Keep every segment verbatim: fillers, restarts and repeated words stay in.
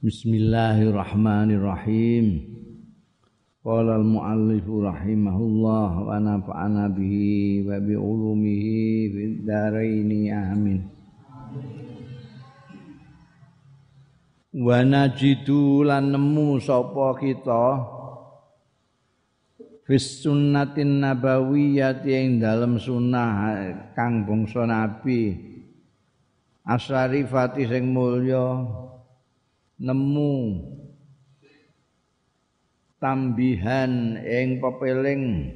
Bismillahirrahmanirrahim. Qala al-muallif rahimahullah wa nafa'ana bihi wa bi ulumihi fid dharain amin. Wa najidu lan nemu sapa kita fis sunnatin nabawiyyati ing dalem sunah kang bangsa nabi asyarifati sing mulya nemu tambihan ing pepeling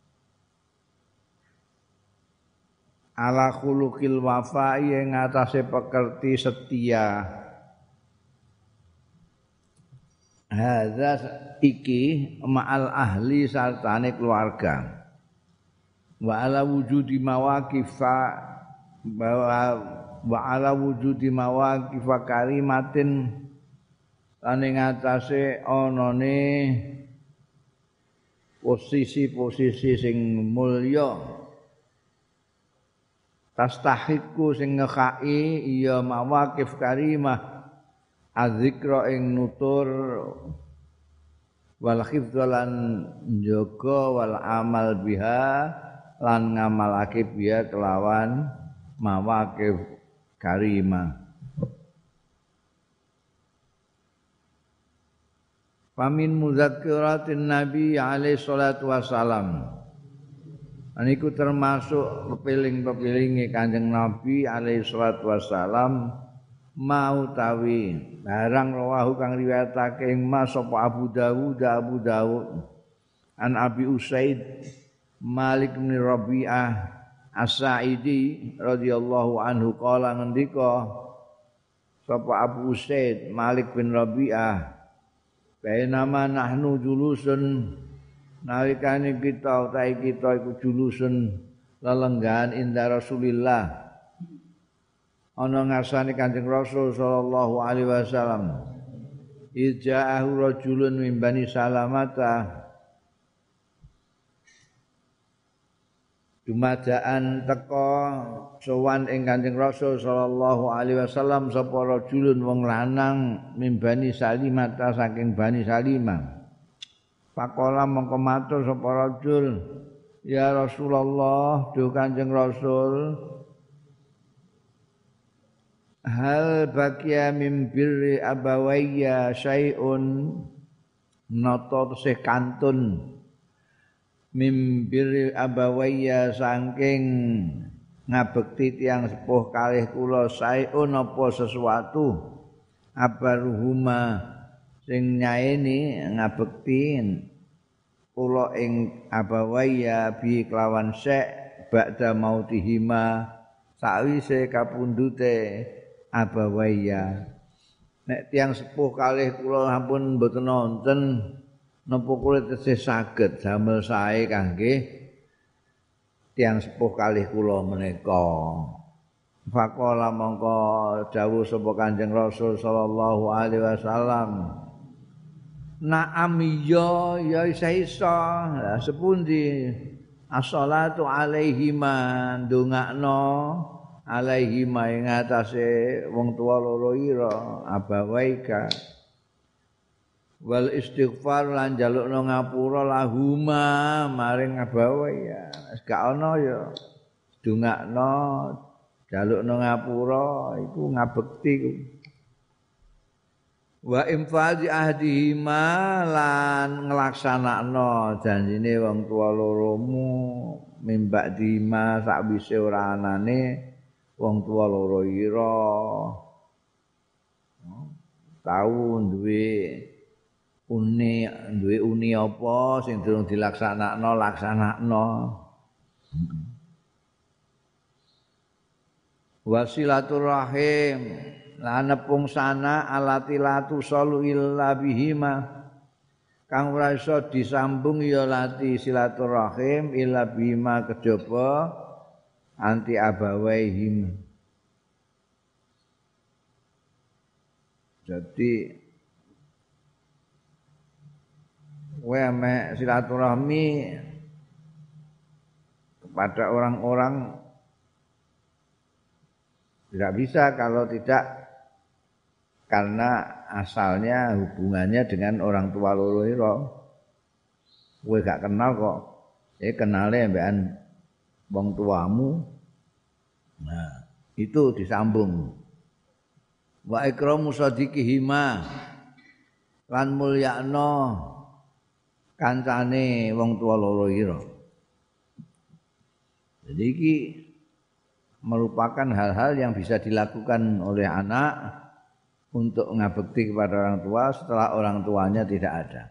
ala khuluqil wafa'i ing atase pekerti setia. Hadza iki ma'al ahli sartane keluarga wa ala wujudi mawaqifa bahwa wa ala wujudi mawaqifa karimatin lan ing atase anane posisi-posisi sing mulya tastahiqu sing ngekai ya mawaqif karimah adzikra ing nutur wal hifdzalan njaga wal amal biha lan ngamalake biha kelawan mawaqif karimah. Famin muzakkiratin Nabi alaihi salatu wasalam. Aniku termasuk pepiling-pepilinge Kanjeng Nabi alaihi salatu wasalam mau tawi barang rawahu kang riwayatake ing Mas sapa Abu Dawud Abu Dawud an Abi Usaid Malik bin Rabi'ah As-Sa'idi radhiyallahu anhu qala ngendika sapa Abu Usaid Malik bin Rabi'ah bainama nahnu julusun nalikane kita utahe kita iku julusun lelenggahan inda Rasulillah ana ngarsane Kanjeng Rasul sallallahu alaihi wasallam ija'ahu rajulun min Bani Salamata dumadaan teka sowan ing Kanjeng Rasul sallallahu alaihi wasallam sapa rajulun wong lanang min Bani Salimata saking Bani Salimah. Faqala mongko matur sapa rajul, ya Rasulullah, duh Kanjeng Rasul, hal baqiya min birri abawayya syai'un nata tesih kantun mimbiri abawayya saking ngabekti tiyang sepuh kalih kula saeun apa sesuatu abaruhuma sing nyaeni ngabekti kula ing abawayya bi kelawan syek ba'da mautihima sawise kapundhute abawayya. Nek tiyang sepuh kalih kula sampun mboten wonten napa kula tesih saged damel sae kangge tiyang sepuh kalih kula menika. Faqala mongko dawuh sapa Kanjeng Rasul sallallahu alaihi wasallam, na'am ya ya isa la sepundi as-shalatu alaihima ndongakno alaihima ing atase wong tuwa loro ira abawaika wal istighfar lan njalukno ngapura lahuma maring abawaya. Wis gak ana ya ndongakno njalukno ngapura iku ngabekti ku. Wa infadhi ahdihima lan nglaksanakno janjine wong tuwa loromu mimbak dima sakwise ora anane wong tuwa loro ira tau duwe uni duwe uni apa sing durung dilaksanakno laksanakno. Wasilaturrahim lan nepung sana alati latu salu illa bihima kang ora iso disambung ya lati silaturrahim illa bihima kejaba anti abawaihim. Jadi kowe mek silaturahmi kepada orang-orang tidak bisa kalau tidak karena asalnya hubungannya dengan orang tua loro ira. Kowe gak kenal kok. Eh kenale mbekan wong tuamu. Nah, itu disambung. Wa ikramu sadiqihima lan mulyakno kancane wong tua loro ira. Jadi iki merupakan hal-hal yang bisa dilakukan oleh anak untuk ngabekti kepada orang tua setelah orang tuanya tidak ada.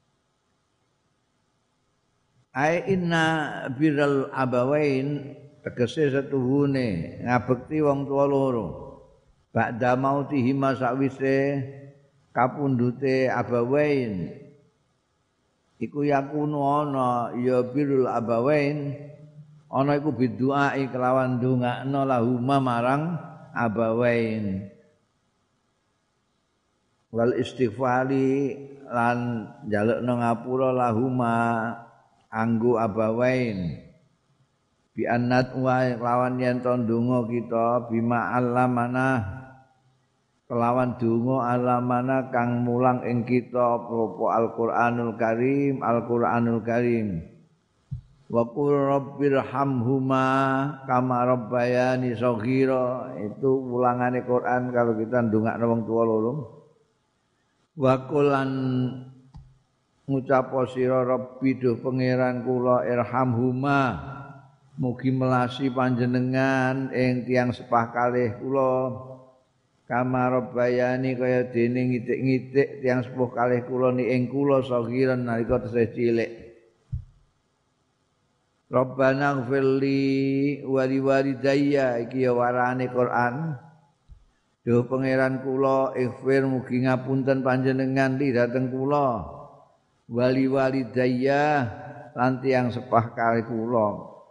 Ai inna birral abawain tegese setuhune ngabekti wong tua loro. Ba'da mautihima sakwise kapundhute abawain iku yakunu ana ya birrul abawain ana iku biduai kelawan ndongakno lahuma marang abawain wal istighfari lan njalukno ngapura lahuma anggo abawain bi annat wa lawan yen to ndonga kita bima alamana kelawan donga alamana kang mulang ing kita apa Al-Qur'anul Karim Al-Qur'anul Karim wa qul rabbirhamhuma kama rabbayani shaghira itu ulangane Quran kalau kita ndongakno wong tuwa loro wa qulan ngucap sira rabbi duh pangeran kula irhamhuma mugi melasi panjenengan ing tiyang sepah kalih kula kama rabbayani kaya dene ngitik-ngitik tiyang sepuh kalih kula ni ing kula saghiran nalika tesih cilik. Rabbana ighfirli wa liwalidayya iki ya warane Quran. Duh pangeran kula ighfir mugi ngapunten panjenengan li dhateng kula. Wali walidayya lan tiyang sepah kalih kula.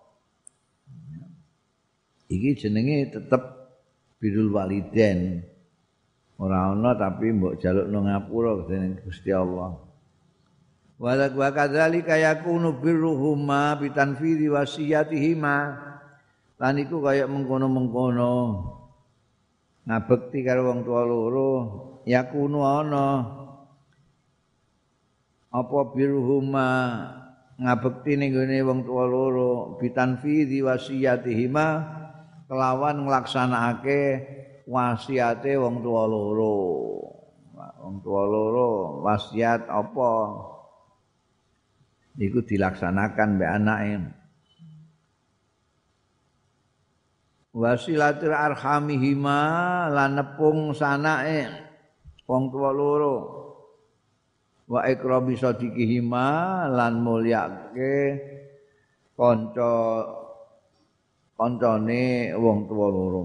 Iki jenenge tetep birrul walidain. Ora ana tapi mbok jalukno ngapura dening Gusti Allah. Wa kadzalika yakunu birruhuma bitanfidhi wasiyatihima. Lan iku kaya mengkono-mengkono. Ngabekti karo wong tuwa loro yakunu ana apa birruhuma ngabekti ning gone wong tuwa loro bitanfidhi wasiyatihima kelawan nglaksanakake wasiate wong tuwa loro. Wong tuwa loro wasiat apa? Iku dilaksanakan mbek anake. Wasilatul arhamihima lan nepung sanake wong tuwa loro. Wa ikrami sadiqihima lan mulyake kanca kancane wong tuwa loro.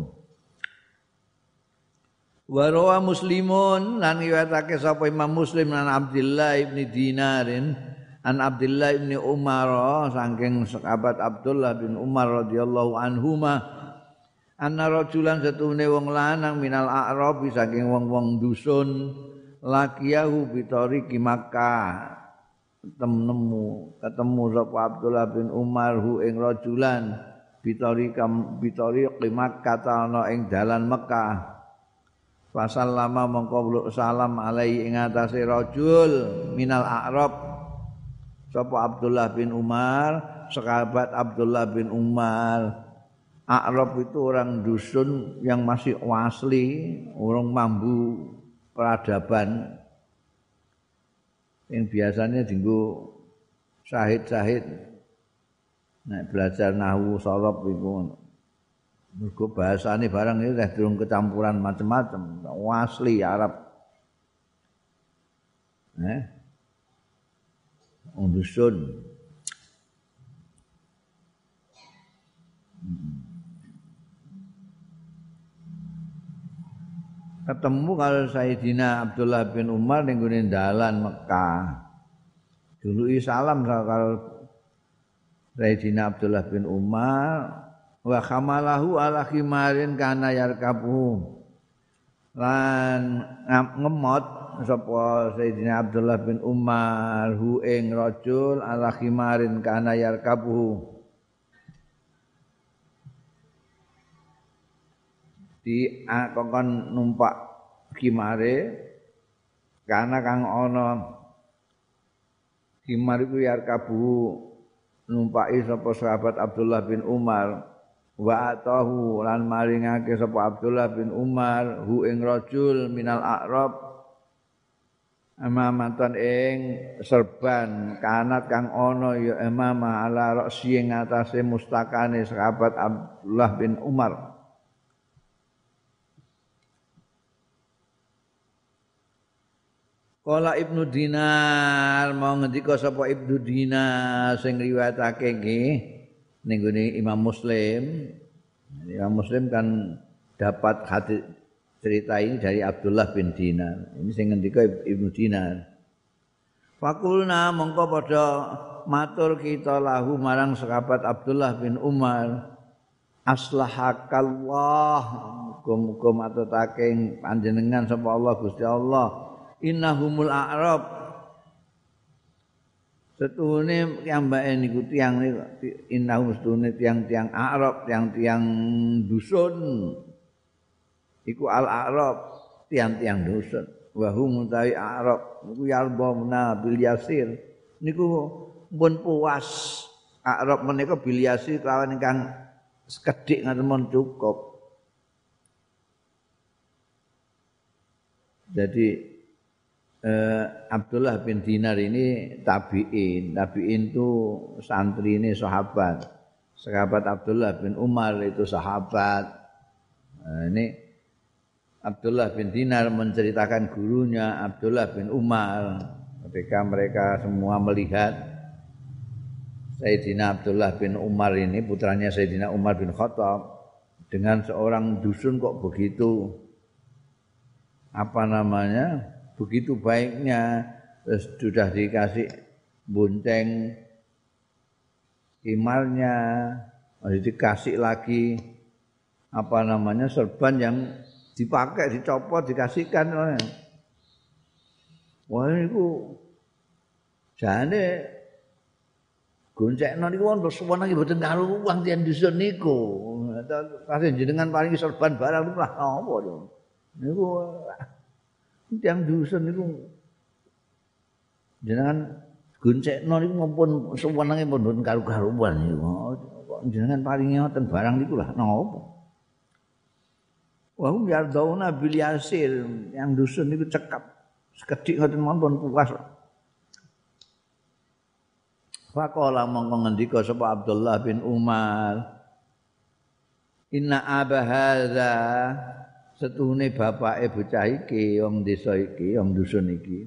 Wa rawa Muslimun lan riwayatake sapa Imam Muslim lan Abdullah ibni Dinarin an Abdullah ibni Umar saking sahabat Abdullah bin Umar radhiyallahu anhuma anna rajulan satune wong lanang minal a'rab saking wong-wong dusun lakiyahu bitoriki Makkah ketemu ketemu sapa Abdullah bin Umar hu ing rajulan bitorika bitoriki Makkah ana ing dalan Mekah. Fasallama mongko salam alaihi ing atase rajul minal a'rab sapa Abdullah bin Umar, sahabat Abdullah bin Umar. A'rab itu orang dusun yang masih asli, orang mambu peradaban. Yang biasanya dienggo syahid-syahid. Nek belajar nahwu sorof iku. Mergo bahasane barang iki wis durung kecampuran macam-macam, asli Arab. Eh? Dusun. Ketemu kalau Sayyidina Abdullah bin Umar ning gone dalan Mekah. Dului salam kalau Sayyidina Abdullah bin Umar wa khamalahu ala khimarin kana yarkabu. Lan ngemot sapa Sayyidina Abdullah bin Umar hu ing rajul ala khimarin kana yarkabu di akon numpak kimare kana kang ana kimar iku yarkabu numpaki sapa sahabat Abdullah bin Umar wa atahu lan maringake sapa Abdullah bin Umar hu ing rajul minal a'rab amamatan ing serban kanat kang ana ya emama ala ra'si ing atase mustakane sahabat Abdullah bin Umar. Kala Ibnu Dinar mau ngendika sapa Ibnu Dinar sing riwayatake nggih ning gone Imam Muslim. Imam Muslim kan dapat hadis cerita ini dari Abdullah bin Dinar. Ini sing ngendika Ibnu Dinar. Fakulna mongko padha matur kita lahu marang sahabat Abdullah bin Umar. Aslahakallah muga-muga matutake panjenengan sapa Allah Gusti Allah. Innahumul a'rab setuhune piyambake niku tiyang niku innahum setuhune tiyang-tiyang a'rab tiyang-tiyang dusun iku al a'rab tiyang-tiyang dusun wa hum ta'i a'rab niku yalbamna bil yasir niku pun puas a'rab menika bil yasir kelawan ingkang sekedhik ngaten mon cukup. Jadi Uh, Abdullah bin Dinar ini tabi'in. Tabi'in itu santri ini sahabat. Sahabat Abdullah bin Umar itu sahabat. Nah, ini Abdullah bin Dinar menceritakan gurunya Abdullah bin Umar ketika mereka semua melihat Sayyidina Abdullah bin Umar ini putranya Sayyidina Umar bin Khattab dengan seorang dusun kok begitu apa namanya begitu baiknya, terus sudah dikasih bonceng kimarnya, masih dikasih lagi apa namanya serban yang dipakai, dicopot, dikasihkan. Wah itu jane goncekno niku wonten suwana iki mboten karo wong tiyang dusun niku. Kasih jenengan paling serban barang niku lah apa niku. Yang dusun itu jenengan goncekno niku mumpun suwenenge pun karo-karuan niku. Jenengan paringi ngoten barang niku lah napa. Wa hum yardauna bil yasir, yang dusun niku cekap sekedhik ngoten mumpun puas. Faqala mongko ngendika sapa Abdullah bin Umar, inna aba hadza setuhune bapake bocah iki wong desa iki wong dusun iki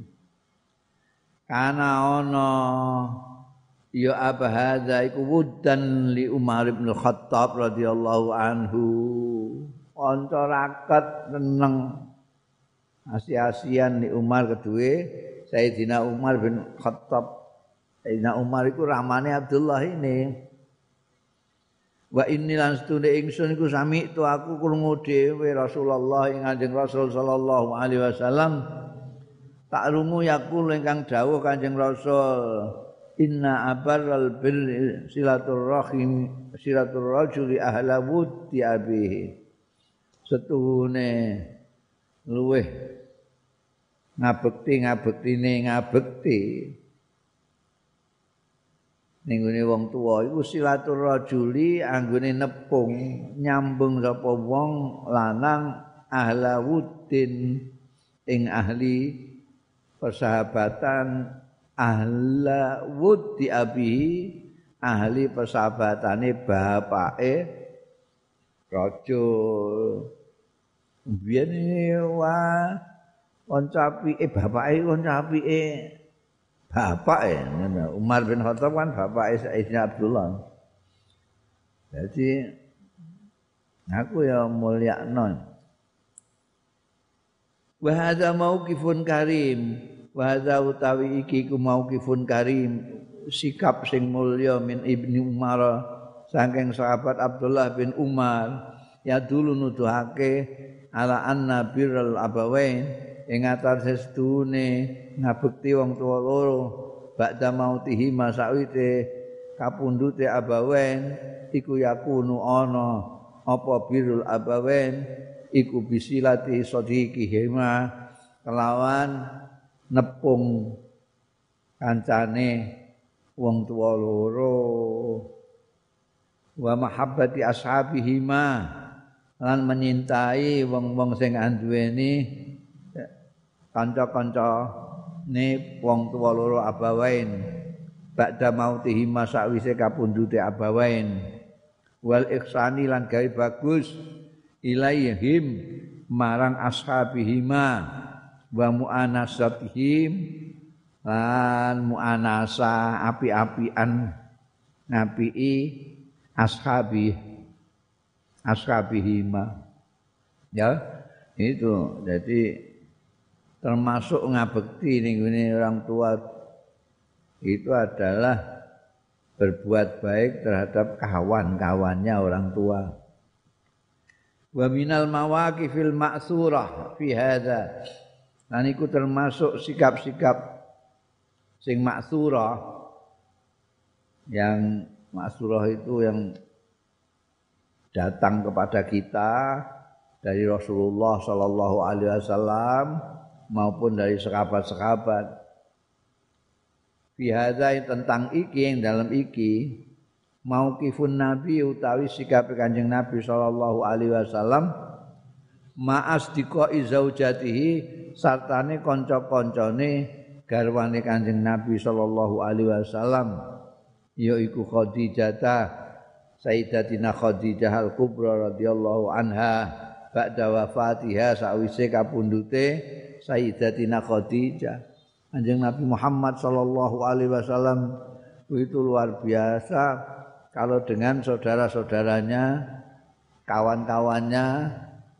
kana ana ya Aba Hadza iku wuddan li Umar bin Khattab radhiyallahu anhu kanca raket seneng asi-asian li Umar kedue Sayyidina Umar bin Khattab. Sayyidina Umar iku ramane Abdullah ini. Wa inni lan stune ingsun iku sami tu aku krungu dhewe Rasulullah ing Kanjeng Rasul sallallahu alaihi wasallam tak rungu yakul ingkang dawuh Kanjeng Rasul inna abarral bil silaturrahim silatur rajuli ahla wuddi abihi setuhune luweh ngabekti ngabektine ngabekti ning gone wong tuwa iku silatur rajuli anggone nepung nyambung sapa wong lanang ahla wuddin ing ahli persahabatan ahla wuddi abihi ahli persahabatane bapake rajul biyen wa kanca apike bapake kanca apike bapak ya, Umar bin Khattab kan bapak Sayyidina Abdullah. Jadi aku ya mulyakno. Wa hadza mauqifun karim, wa hadza utawi iki ku mauqifun karim, sikap sing mulya min Ibni Umar saking sahabat Abdullah bin Umar ya dulu nuduhake ala anna birrul abawain ing atase sedune ngabekti wong tuwa loro ba'da mautihi masawite kapundhute abawen iku yakunu ana apa birrul abawen iku bisilati sadiqihima kelawan nepung kancane wong tuwa loro wa mahabbati ashabihima lan menyintai wong-wong sing anduweni kanca-kancane wong tuwa loro abawain ba'da mautihima sakwise kapundhute abawain wal ihsani lan gawe bagus ilaihim marang ashabihima wa mu'anasatihim lan mu'anasa api-apian ngapii ashabi ashabihima ya itu jadi termasuk ngabekti ning orang tua itu adalah berbuat baik terhadap kawan-kawannya orang tua. Wa minal mawaqifil ma'surah fi hadza. Lan iku termasuk sikap-sikap sing ma'surah yang ma'surah itu yang datang kepada kita dari Rasulullah sallallahu alaihi wasallam maupun dari sahabat-sahabat. Fi hadza tentang iki yang dalam iki mauqifun nabi utawi sikap Kanjeng Nabi sallallahu alaihi wasallam ma'asdiqai zaujatihi sartane kanca-kancane garwane Kanjeng Nabi sallallahu alaihi wasallam yaiku Khadijah Sayyidatina Khadijah Al-Kubra radhiyallahu anha ba'da wafatiha sawise kapundhute Sayyidatina Khadijah. Kanjeng Nabi Muhammad sallallahu alaihi wasallam itu luar biasa kalau dengan saudara-saudaranya, kawan-kawannya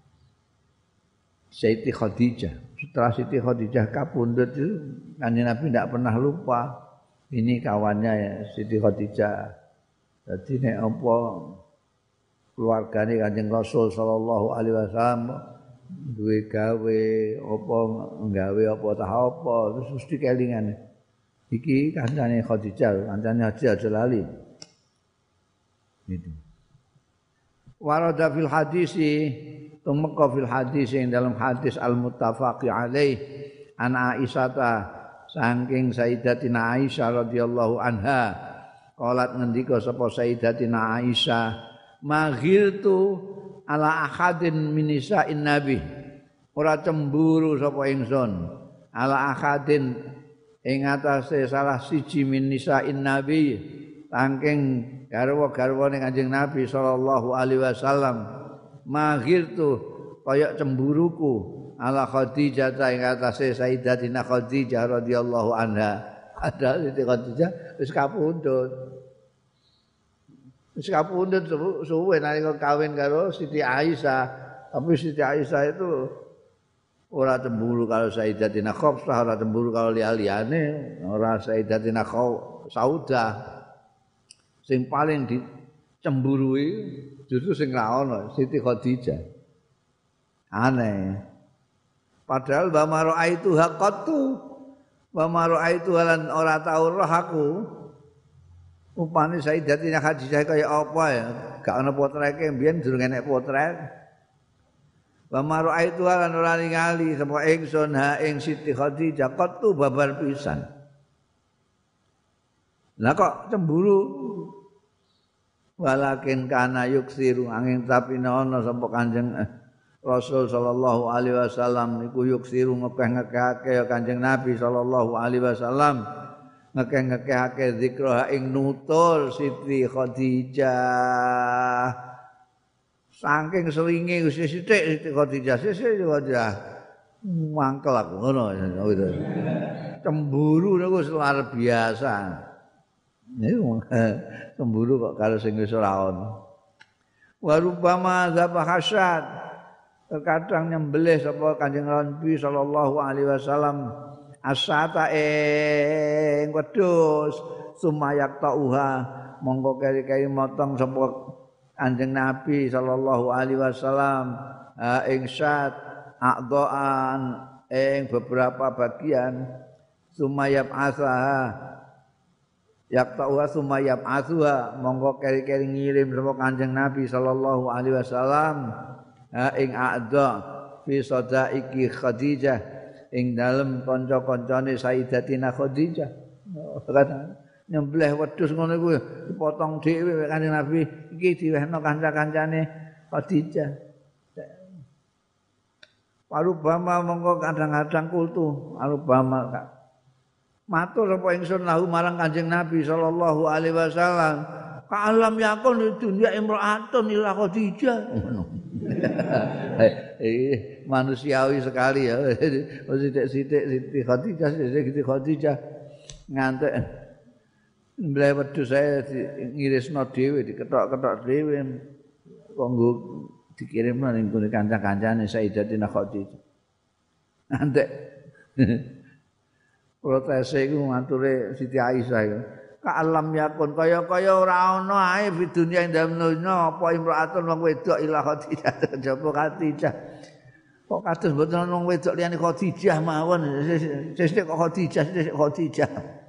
Siti Khadijah. Setelah Siti Khadijah kapundhut itu Kanjeng Nabi tidak pernah lupa ini kawannya ya, Siti Khadijah. Jadi nek apa keluargane Kanjeng Rasul sallallahu alaihi wasallam duwe gawe apa nggawe apa tah apa terus mesti kelingan. Iki kancane Khadijah, kancane Haji aja lali. Gitu. Warada fil hadisi tumeka fil hadis yang dalam hadis al-muttafaqi alaih an Aisyah saking Sayyidatina Aisyah radhiyallahu anha qalat ngendika sapa Sayyidatina Aisyah maghirtu ala ahadin min nisa'in nabi ora cemburu sapa ingsun ala ahadin ing atase salah siji min nisa'in nabi saking garwa-garwane Kanjeng Nabi sallallahu alaihi wasallam maghirtu kaya cemburuku ala Khadijah ing atase Sayyidatina Khadijah radhiyallahu anha ada Siti Khadijah wis kapundhut wis kapundhut suwe nalika kawin karo Siti Aisyah tapi Siti Aisyah itu ora cemburu kalau Sayyidatina Khafsah ora cemburu kalau liya-liyane ora Sayyidatina Saudah sing paling dicemburui justru sing ra ono Siti Khadijah aneh padahal wa maraitu haqqatu wa maraitu lan ora tau roh aku upane Sayyidatina Khadijah kaya apa ya gak ono potreke mbiyen durung enek potret wa maraitu lan ora ningali sapa ingsun ha ing Siti Khadijah qatu babar pisan lah kok cemburu walakin kana yuksiru angin tapi ana sapa Kanjeng Rasul sallallahu alaihi wasallam niku yuksiru ngekeh-ngekehake Kanjeng Nabi sallallahu alaihi wasallam ngekeh-ngekehake zikra ing nutur Siti Khadijah saking seringe wis sithik Siti Khadijah sithik Khadijah mangkel aku ngono gitu cemburu niku luar biasa niku cemburu kok karo sing wis ora ono wa rubama zabahasyat terkadang nyembelih sapa Kanjeng Nabi sallallahu alaihi wasallam asata ing wedhus sumayak tauha monggo keri-keri motong sapa Kanjeng Nabi sallallahu alaihi wasallam ing syat aqdaan ing beberapa bagian sumayab asaha yak ta'uha sumayab asuha monggo keri-keri ngirim sapa Kanjeng Nabi sallallahu alaihi wasallam ha ing a'dha fi sadaiki Khadijah ing dalem kanca-kancane Sayyidatina Khadijah. Nyembelih wedhus ngono iku dipotong dhewe Kanjeng Nabi iki diwehno kanca-kancane Khadijah. Parubama mongko kadang-kadang kultu arubama matur apa ingsun lahu marang Kanjeng Nabi sallallahu alaihi wasallam ka'alam yakun di dunia imra'atun ila Khadijah. Eh manusiawi sekali ya. Sithik-sithik Siti Khadijah, Siti Khadijah ngantek mbleh wedhus saya ngirisno dhewe diketok-ketok dhewe kanggo dikirimno ning gone kanca-kancane Sayyidatina Khadijah. Ngantek protese iku mature Siti Aisyah iku. Ka'alam yakun kaya-kaya ora ana ae di dunia ing dunya apa imraatun wong wedok ila Khadijah jaba Khadijah. Kok kados mboten ana wong wedok liyane Khadijah mawon. Sesuk kok Khadijah, sesuk Khadijah.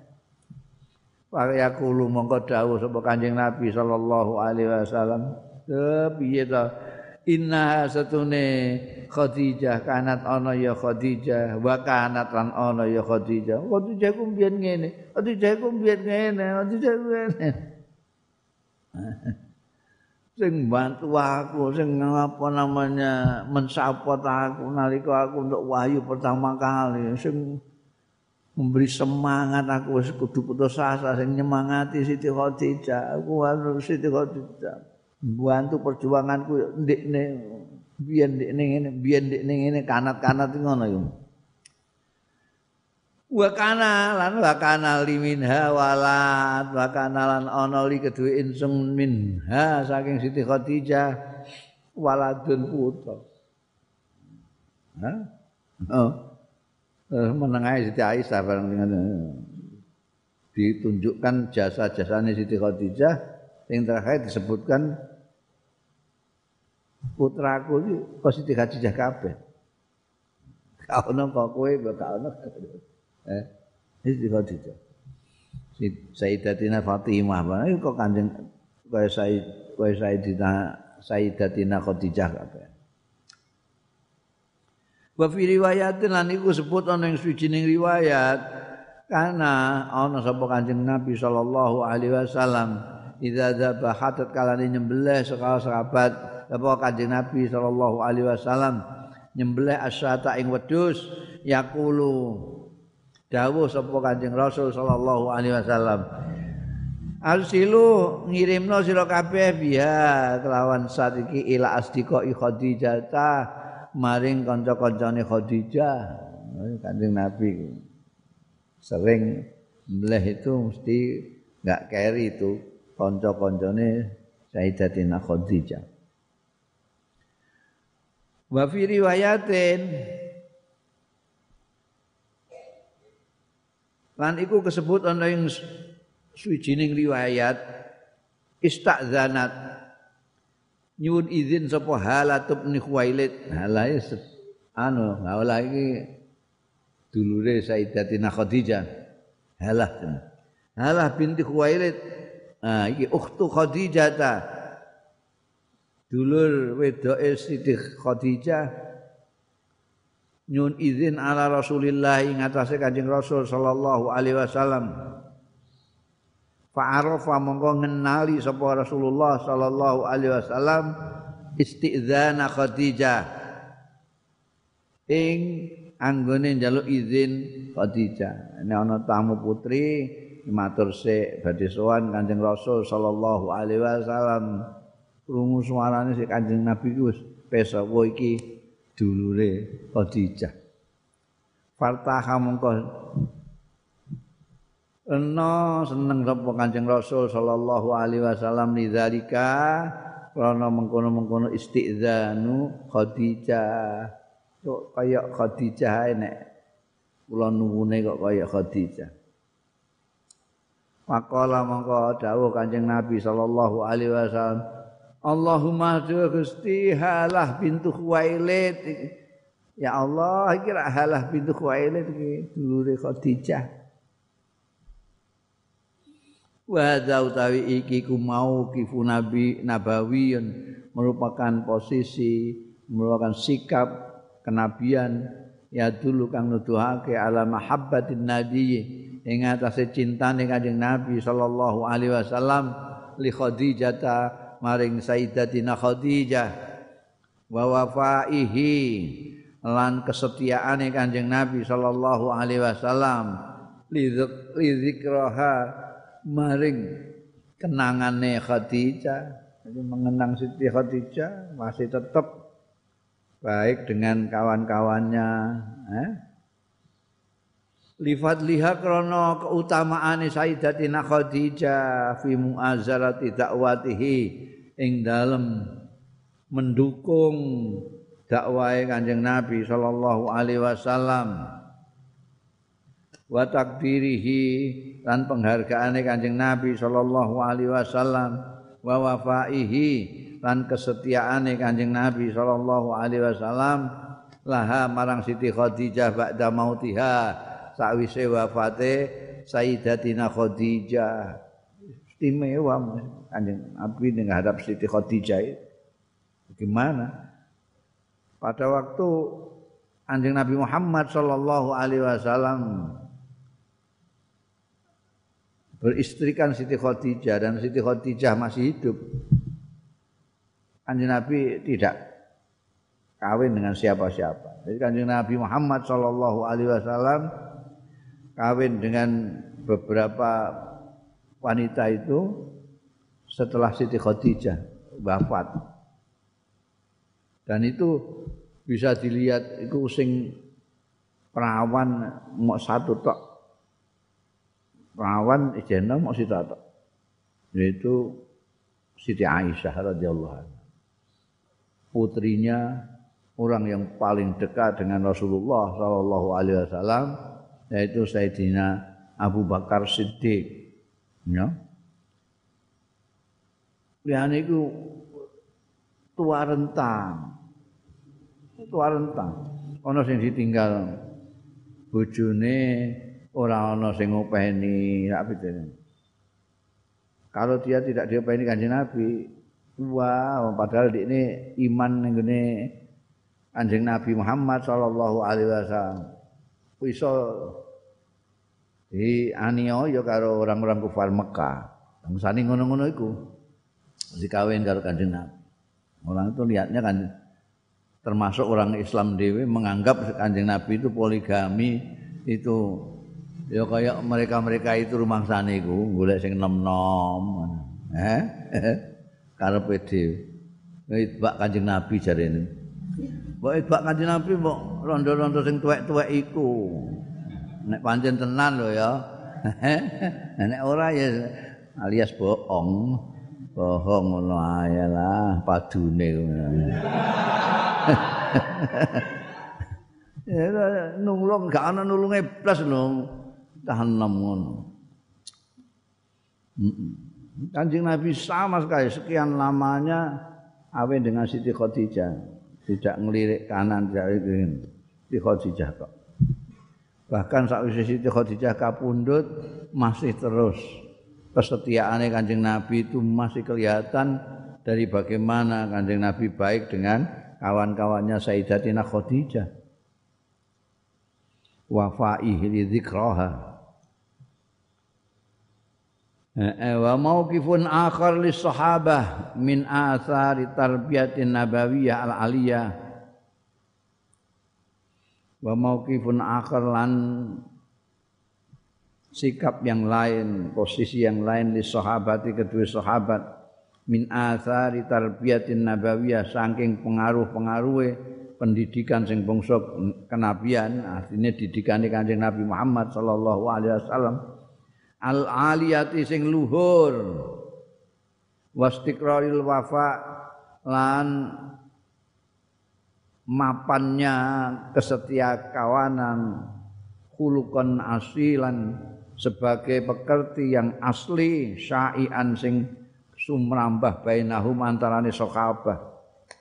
Para yaqulu mongko dawuh sapa Kanjeng Nabi sallallahu alaihi wasallam, piye ta inna satune Khadijah kanat ana ya Khadijah wa kanat lan ana ya Khadijah. Khadijah ku mbiyen ngene, Khadijah ku mbiyen ngene, Khadijah ku ngene. Sing bantu aku, sing apa namanya mensupport aku nalika aku untuk wahyu pertama kali, sing memberi semangat aku wis kudu putus asa sing nyemangati Siti Khadijah. Aku harus Siti Khadijah. Bantu perjuanganku ndekne biyen ndekne ngene, biyen ndekne ngene kanat-kanat ngono iku. Wa kana lan wa kana liminha walad wa kana lan ana li kedue insung minha saking Siti Khadijah waladun putra. Hah? Oh. Menengahi Siti Aisyah barang ditunjukkan jasa-jasane Siti Khadijah yang terakhir disebutkan putraku iki kok Siti Khadijah kabeh. Ka ono kok kowe ka ono. Eh Siti Khadijah. Sayyidatina Fatimah barang kok Kanjeng kaya Sayyid kaya Sayyidatina Sayyidatina Khadijah kabeh. Wa fi riwayatin lan iku sebut ana ing suwijining riwayat kana ana sapa Kanjeng Nabi sallallahu alaihi wasallam idza dzabahat kalane nyembelih sekala sahabat apa Kanjeng Nabi sallallahu alaihi wasallam nyembelih asyata ing wedhus yaqulu dawuh sapa Kanjeng Rasul sallallahu alaihi wasallam arsilu ngirimno sira kabeh biha kelawan saat iki ila asdiqa Khadijah ta maring kanca-kancane Khadijah. Kanjeng Nabi sering mleh itu mesti enggak keri itu kanca-kancane Sayyidatina Khadijah. Wa fi riwayatin lan iku kesebut ana ing suwijining riwayat istazanat nyuwun izin sapa Halah bin Khuwailid. Halah anu Halah iki dulure Sayyidatina Khadijah. Halah Halah binti Khuwailid. Ah iki ukhtu Khadijah ta. Dulur wedoke Siti Khadijah nyuwun izin ala Rasulillah ing atase Kanjeng Rasul sallallahu alaihi wasallam. Fa'arafa mongko ngenali sapa Rasulullah sallallahu alaihi wasallam isti'dzana Khadijah ing anggone njaluk izin Khadijah. Nek ana tamu putri matur sik badhe sowan Kanjeng Rasul sallallahu alaihi wasallam. Krungu suarane sik Kanjeng Nabi ku wis pesa kowe iki dulure Khadijah. Fartaha mongko Eno seneng sapa Kanjeng Rasul sallallahu alaihi wasallam lidzalika krana mengkono-mengkono isti'dzanu Khadijah. Kok kaya Khadijah nek kula nuwune kok kaya Khadijah. Maqala mongko dawuh Kanjeng Nabi sallallahu alaihi wasallam, Allahumma Gusti Halah bintu Khuwailid. Ya Allah, iki Halah bintu Khuwailid iki dulure Khadijah. Wa utawi iki ku mau kifu nabi nabawiyun merupakan posisi merupakan sikap kenabian ya dulu kang nuduhake ala mahabbatin nabi ing atase cintane Kanjeng Nabi sallallahu alaihi wasallam li Khadijah maring Sayyidatina Khadijah wa wafaihi lan kesetiaane Kanjeng Nabi sallallahu alaihi wasallam li zikraha maring kenangane Khadijah. Jadi mengenang Siti Khadijah masih tetap baik dengan kawan-kawannya, eh? Lifat liha krono keutamaane Sayyidatina Khadijah fi mu'azzarati dakwatihi ing dalem mendukung dakwahe Kanjeng Nabi sallallahu alaihi wasallam wa takdirihi lan penghargaane Kanjeng Nabi sallallahu alaihi wasallam wa wafaihi lan kesetiaane Kanjeng Nabi sallallahu alaihi wasallam laha marang Siti Khadijah ba'da mautiha sakwise wafate Sayyidatina Khadijah. Istimewa Kanjeng Nabi menghadap Siti Khadijah itu. Bagaimana? Pada waktu Kanjeng Nabi Muhammad sallallahu alaihi wasallam beristrikan Siti Khadijah dan Siti Khadijah masih hidup, Kanjeng Nabi tidak kawin dengan siapa-siapa. Jadi Kanjeng Nabi Muhammad sallallahu alaihi wasallam kawin dengan beberapa wanita itu setelah Siti Khadijah wafat. Dan itu bisa dilihat itu sing perawan mau satu tok. Perawan ijena mau satu tok. Yaitu Siti Aisyah radhiyallahu anha. Putrinya orang yang paling dekat dengan Rasulullah sallallahu alaihi wasallam yaitu Sayyidina Abu Bakar Siddiq. Ya. Liyane iku tua rentang. Tua rentang. Ana sing ditinggal bojone, ora ana sing ngopeni, sak pitene. Kalau dia tidak diopeni Kanjeng Nabi, wah padahal ini iman ning gone Kanjeng Nabi Muhammad sallallahu alaihi wasallam. Iso dianiaya karo orang-orang kufar Mekah. Bangsane ngono-ngono iku dikawin karo Kanjeng Nabi. Orang itu lihatnya kan termasuk orang Islam dhewe menganggap Kanjeng Nabi itu poligami itu ya kayak mereka-mereka itu rumangsane iku golek sing nom-nom. Eh? Karepe dhewe. Itbak Kanjeng Nabi jarene. Mbok itbak Kanjeng Nabi mbok rondo-rondo sing tuwek-tuwek iku. Nek pancen tenan lho ya. Nek ora ya alias bohong. Bohong ngono ae lah padune ngono. Ya nulung gak ana nulunge blas lho. Tahanem ngono. Kanjeng Nabi sama sekali sekian lamanya awe dengan Siti Khadijah, tidak ngelirik kanan tidak ngelirik Siti Khadijah kok. Bahkan sakwise Siti Khadijah kapundhut masih terus kesetiaane Kanjeng Nabi itu masih kelihatan dari bagaimana Kanjeng Nabi baik dengan kawan-kawannya Sayyidatina Khadijah. Wafaihi li dzikraha. Wa mauqifun akhar lis sahabah min athari tarbiyatin nabawiyyah al aliyah. Wa mauqifun akhar lan sikap yang lain, posisi yang lain lis sahabati kedua sahabat min athari tarbiyatin nabawiyyah saking pengaruh-pengaruhe pendidikan sing bangsa kenabian, artinya didikane Kanjeng Nabi Muhammad sallallahu alaihi wasallam al-aliyati sing luhur wastiqraril wafa lan mapannya kesetia kawanan khuluqan asilan sebagai pekerti yang asli syai'an sing sumrambah bainahum antarane sahabat.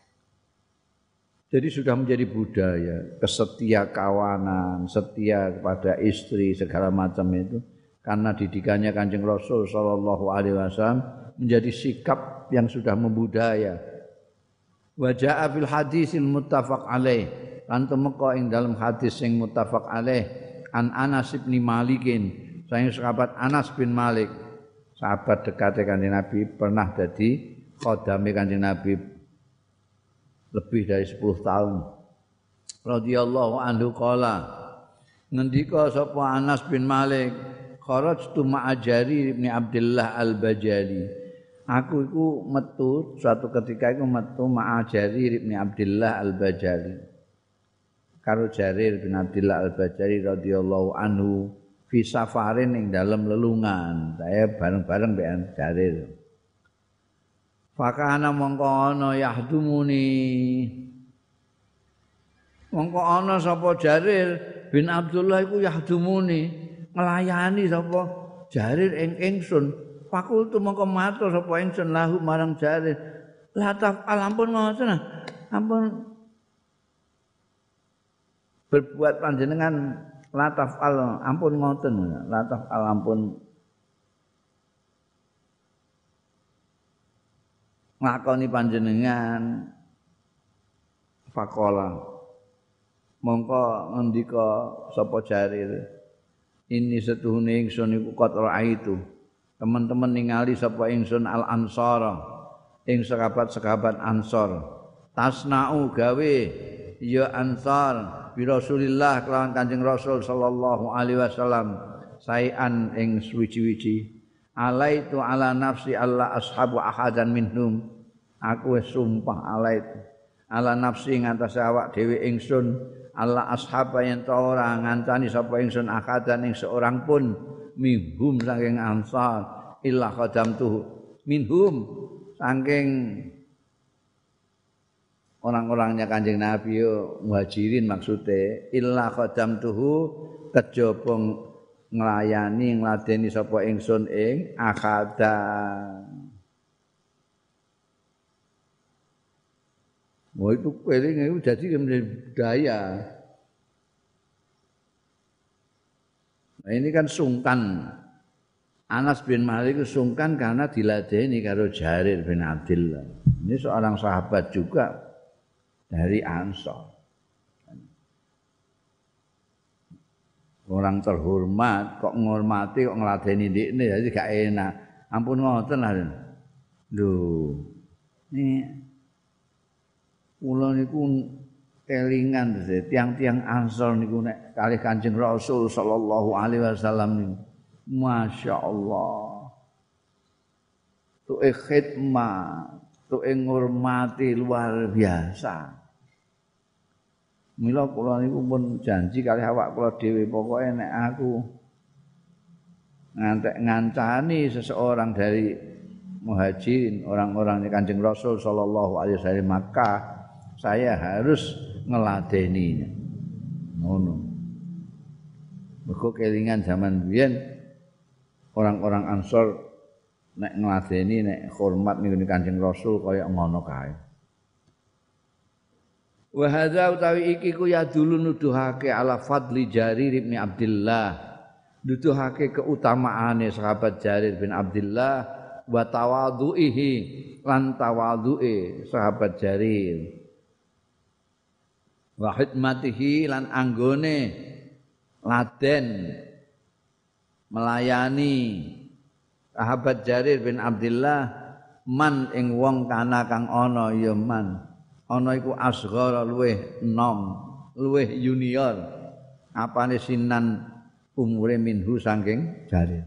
Jadi sudah menjadi budaya kesetia kawanan, setia kepada istri segala macam itu karena didikannya Kanjeng Rasul sallallahu alaihi wasallam menjadi sikap yang sudah membudaya. Wa jaa fil hadisil muttafaq alaih lan temeka ing dalam hadis sing muttafaq alaih an Anas bin Malikin saking sahabat Anas bin Malik sahabat dekate Kanjeng Nabi pernah dadi khodame Kanjeng Nabi lebih dari sepuluh tahun radhiyallahu anhu qala ngendika sapa Anas bin Malik kharajtu ma'a Jarir bin Abdullah al-Bajali aku iku metu suatu ketika iku metu ma'a Jarir bin Abdullah al-Bajali karo Jarir bin Abdullah al-Bajali radhiyallahu anhu fi safarin ing dalem lelungan saya bareng-bareng mbek Jarir fakana mongko ana yahdumuni mongko ana sapa Jarir bin Abdullah iku yahdumuni nglayani sapa Jarir ing ingsun fakultu mongko matur sapa ingsun lahu marang Jarir lataf alampun ngoten ampun berbuat panjenengan lataf al ampun ngoten lataf al ampun ngakoni panjenengan faqala mongko ngendika sapa Jarir ini setuhune ingsun iku qatra itu teman-teman ningali sapa ingsun al ansara ing sahabat-sahabat ansor tasna'u gawe ya ansar bi Rasulillah kelawan Kanjeng Rasul sallallahu alaihi wasallam saean ing suwi-wiji alaitu ala nafsi alla ashabu ahadan minhum aku wis sumpah alaitu ala nafsi ngatas awak dhewe ingsun alla ashaba yen ta ora ngancani sapa ingsun ahadan ing seorang pun minhum saking ansar illa qadamtuhu minhum saking orang-orangnya Kanjeng Nabi yo muhajirin maksude illa qadamtuhu kejaba nglayani ngladeni sapa ingsun ing akada mau itu keling itu jadi budaya nah ini kan sungkan Anas bin Malik itu sungkan karena diladeni karo Jarir bin Abdullah ini seorang sahabat juga dari Ansor. Orang terhormat kok ngormati kok ngladeni ndekne jadi gak enak. Ampun ngoten lah. Lho. Ini kula niku kelingan tiang-tiang Ansor niku nek kalih Kanjeng Rasul sallallahu alaihi wasallam niku. Masyaallah. Tu'e khidmah, tu'e ngurmati luar biasa. Mila kula niku pun janji kalih awak kula dhewe pokoke nek aku ngantek ngancani seseorang dari muhajirin orang-orangnya Kanjeng Rasul sallallahu alaihi wasallam Makkah saya harus ngeladeninya. Ngono. Mergo kelingan zaman biyen orang-orang Ansor nek ngladeni nek hormat niku Kanjeng Rasul kaya ngono kae. Wa hadza utawi iki ku ya dulu nuduhake ala fadli Jarir bin Abdullah. Nuduhake keutamaane sahabat Jarir bin Abdullah wa tawadhuihi lan tawadhu'e sahabat Jarir. Wa khidmatihi lan anggone laden melayani sahabat Jarir bin Abdullah man ing wong kana kang ana ya man ana iku asghara luweh enom luweh junior apane sinan umure minhu saking Jarir.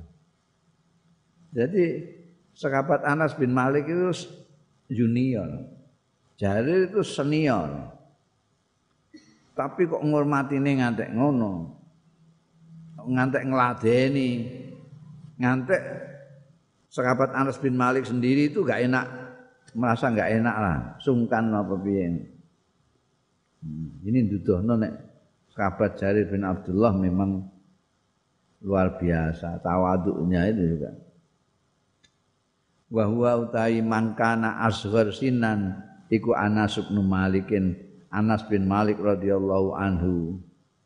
Jadi sahabat Anas bin Malik itu junior, Jarir itu senior. Tapi kok ngurmatine ngantek ngono. Ngantek ngladeni. Ngantek sahabat Anas bin Malik sendiri itu gak enak, merasa gak enak lah, sungkan apa piye. Hmm, ini duduhno nek sahabat Jarir bin Abdullah memang luar biasa tawadhu'nya itu juga. Wa huwa utai man kana asghar sinan iku Anas bin Malikin Anas bin Malik radhiyallahu anhu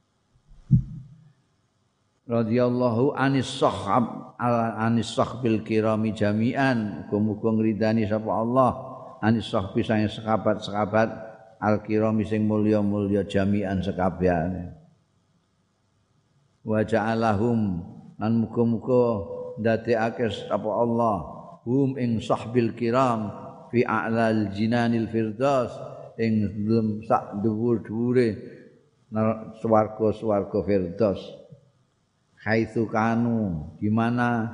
radhiyallahu anis sahab ala anis sahbil kirami jami'an muga-muga ngridani sapa Allah anis sahbi sange sahabat-sahabat al-kiram sing mulya-mulya jami'an sekabehane. Wa ja'alahum lan muga-muga ndadekake apa Allah hum ing sahbil kiram fi a'lal jinanil firdaus ing dalem sak dhuwur-dhuwure swarga-swarga firdaus. Haitsu kanu di mana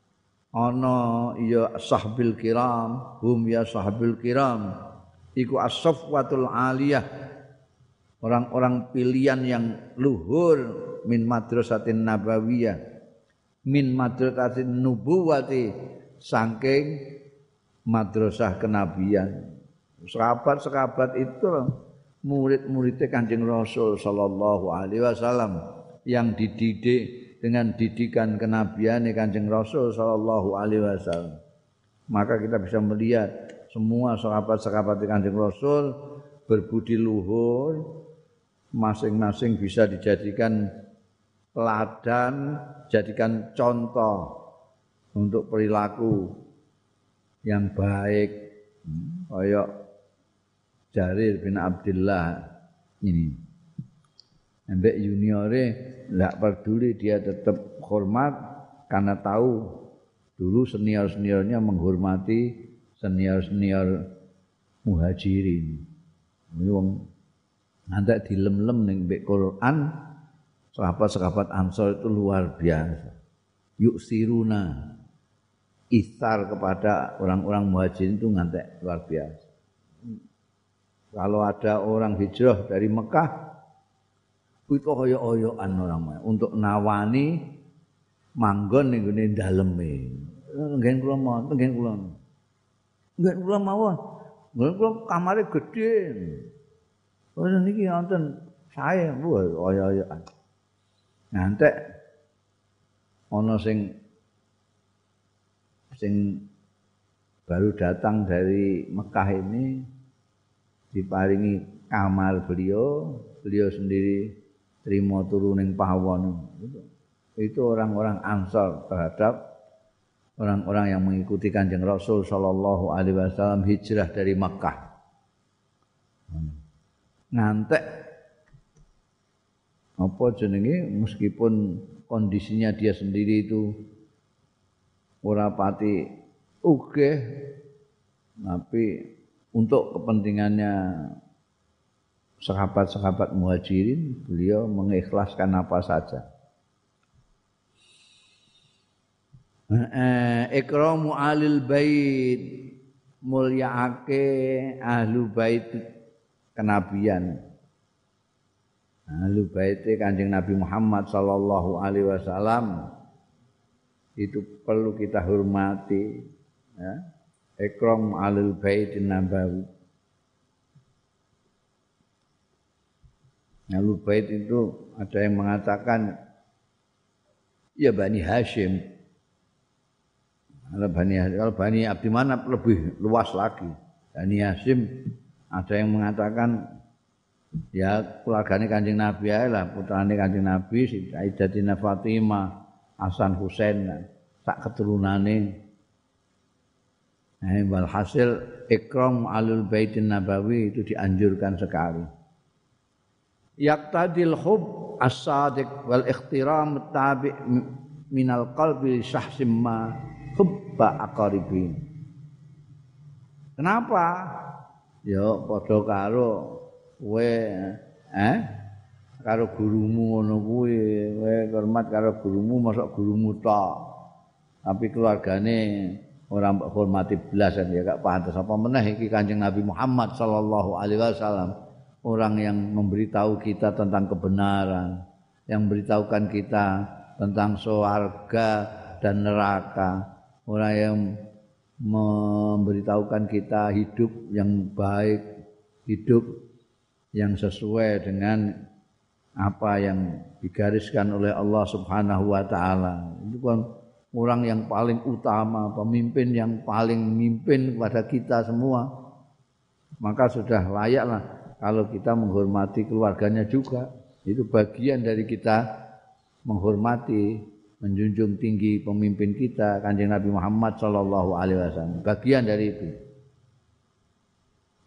ana ya sahbil kiram hum ya sahbil kiram iku as-safwatul aliyah orang-orang pilihan yang luhur min madrasatin nabawiyah min madrasatin nubuwati saking madrasah kenabian. Sahabat-sahabat itu murid-muridnya Kanjeng Rasul sallallahu alaihi wasallam yang dididik dengan didikan kenabian Kanjeng Rasul sallallahu alaihi wasallam. Maka kita bisa melihat semua sahabat-sahabat Kanjeng Rasul berbudi luhur, masing-masing bisa dijadikan teladan, jadikan contoh untuk perilaku yang baik. Kayak Jarir bin Abdullah ini. Ambek juniore enggak peduli, dia tetap hormat karena tahu dulu senior-seniornya menghormati senior-senior muhajirin. Ini wong ngantek dilem-lem ning mbek Quran, sahabat-sahabat Ansor itu luar biasa. Yuk siruna isar kepada orang-orang muhajirin itu ngantek luar biasa. Kalau ada orang hijrah dari Mekah itu hoyo-hoyoan orang untuk nawani manggon ning gone daleme. Ngen kula mau, ngen kula. Ngen kula mawon. Ngen kula kamare gedhe. Oh niki wonten sae hoyo-hoyoan. Ngantek ana sing sing baru datang dari Mekah ini diparingi kamar beliau, beliau sendiri terima turuning pawon. Itu orang-orang Ansar terhadap orang-orang yang mengikuti Kanjeng Rasul sallallahu alaihi wasallam hijrah dari Mekah. Ngantek apa jenenge meskipun kondisinya dia sendiri itu ora pati ugih, tapi untuk kepentingannya sahabat-sahabat muhajirin beliau mengikhlaskan apa saja. Ikramu alil bait, mulyaake ahlu bait kenabian. Ahlu bait Kanjeng Nabi Muhammad sallallahu alaihi wasallam itu perlu kita hormati, ya. Ikram alil bait nabawi. Ahlu bait itu ada yang mengatakan ya Bani Hashim. Kalau Bani kalau Bani Abdi Manaf lebih luas lagi. Bani Hashim ada yang mengatakan ya keluargane Kanjeng Nabi ae lah, putrane Kanjeng Nabi Sayyidatina Fatimah, Hasan Husain, sak keturunane. Nah, walhasil ikram alul baitin nabawi itu dianjurkan sekali. Yaqtadil hub as-sadiq wal ikhtiram tabi' minal qalbi syahsim ma hubba aqaribin. Kenapa? Ya padha karo kowe eh karo gurumu ngono kuwi, kowe hormat karo gurumu mosok gurumu tok. Tapi keluargane ora mbok hormati blas ya gak pantes apa meneh iki Kanjeng Nabi Muhammad sallallahu alaihi wasallam, orang yang memberitahu kita tentang kebenaran, yang memberitahukan kita tentang surga dan neraka, orang yang memberitahukan kita hidup yang baik, hidup yang sesuai dengan apa yang digariskan oleh Allah Subhanahu wa taala. Itu kan orang yang paling utama, pemimpin yang paling memimpin kepada kita semua. Maka sudah layaklah kalau kita menghormati keluarganya juga. Itu bagian dari kita menghormati, menjunjung tinggi pemimpin kita Kanjeng Nabi Muhammad sallallahu alaihi wasallam. Bagian dari itu.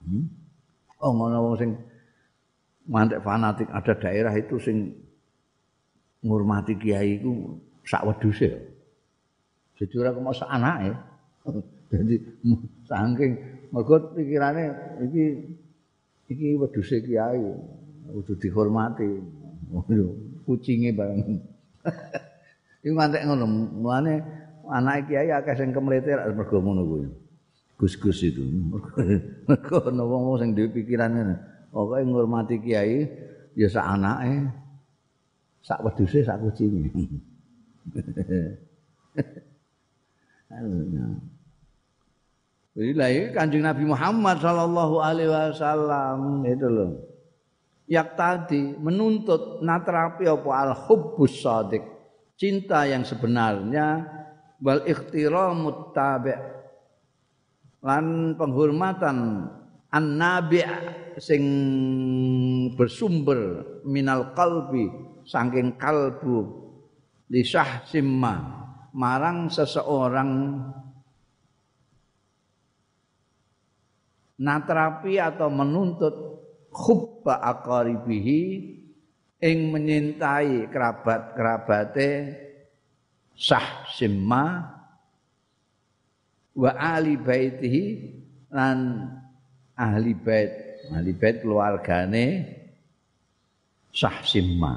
Hmm? Oh ngono wong sing mantek fanatik ada daerah itu sing ngurmati kiai iku sak wedhuse. Jadi ora kok sak anake. Jadi saking mergo pikirane iki iki wedhuse kiai kudu dihormati. Kucinge bareng. Iku mantek ngono. Mulane anake kiai akeh sing kemleter mergo ngono kuwi. Gus-gus itu. Mergo ana wong-wong sing duwe pikiran ngene. Pokoke ngurmati kiai ya sak anake, sak wedhuse, sak kucinge. Inilah Kanjeng Nabi Muhammad sallallahu alaihi wasallam itu loh. Yak tadi menuntut natrapi apa al-hubbus shadiq, cinta yang sebenarnya, wal ikhtiramut tabi' lan penghormatan an-nabi' sing bersumber minal qalbi saking kalbu li syahsimma marang seseorang natrapi atau menuntut hubba aqaribihi ing menyintai kerabat-kerabate syahsimma wa ahli baitihi lan ahli bait ahli bait keluargane syahsimma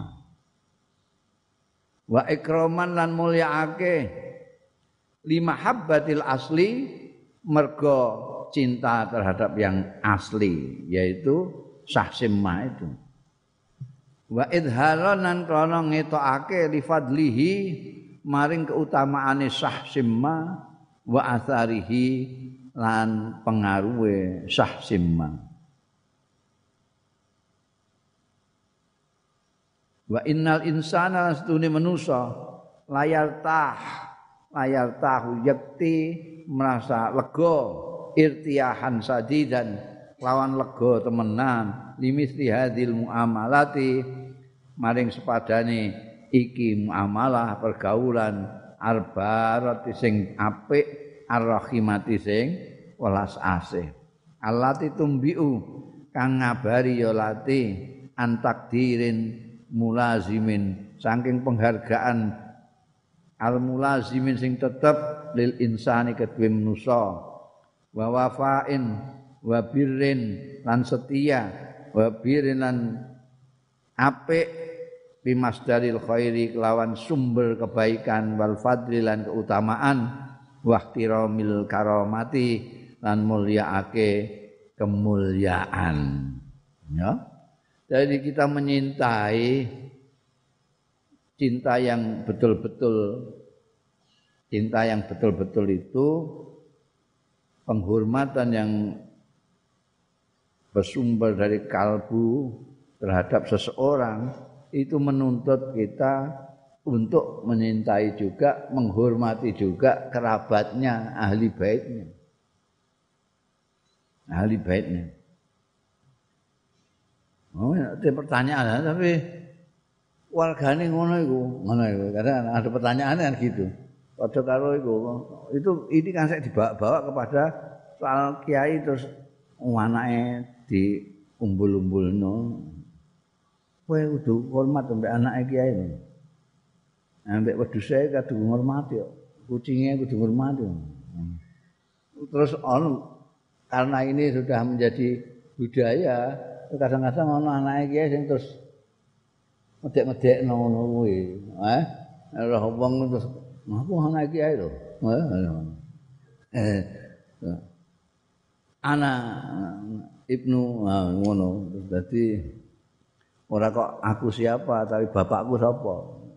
wa ikraman lan mulyaake lima habbatil asli mergo cinta terhadap yang asli yaitu syahsimma itu wa idharan lan krana ngetokake li fadlihi maring keutamaane syahsimma wa atharihi lan pengaruhe syahsimma wa innal insana astune manusa layar tah layar tahu yakti merasa lega irtiyahan sadidan lawan lega temenan limisli hadil muamalati maring sepadane iki muamalah pergaulan arbarati sing apik arrahimati sing welas asih allati tumbiu kang ngabari ya lati antakdirin mulazimin saking penghargaan al mulazimin sing tetep lil insani kedue manusa wa wafain wa birrin lan setia wa birrin lan apik bimasdaril khairi kelawan sumber kebaikan wal fadli lan keutamaan wa ihtiramil karamati lan mulyaake kemuliaan ya jadi kita menyintai cinta yang betul-betul cinta yang betul-betul itu penghormatan yang bersumber dari kalbu terhadap seseorang itu menuntut kita untuk menyintai juga, menghormati juga kerabatnya, ahli baitnya. Ahli baitnya. Oh, ada pertanyaan tapi wargane ngono iku, ngono iku. Karena ada pertanyaan kan gitu. Padha karo iku, itu ini kan saya dibawa-bawa kepada soal kiai terus anake diumbul-umbulno. Kowe kudu hormat ambek anake kiai. Ambek wedhuse kudu ngormati kok. Kucinge kudu ngormati. Terus on karena ini sudah menjadi budaya, kadang-kadang ono anake kiai sing terus medek-medekno ngono kuwi. Eh, ora wong terus aku anake kiai lho. Eh. Ana Ibnu ngono. Dadi ora kok aku siapa tapi bapakku sapa.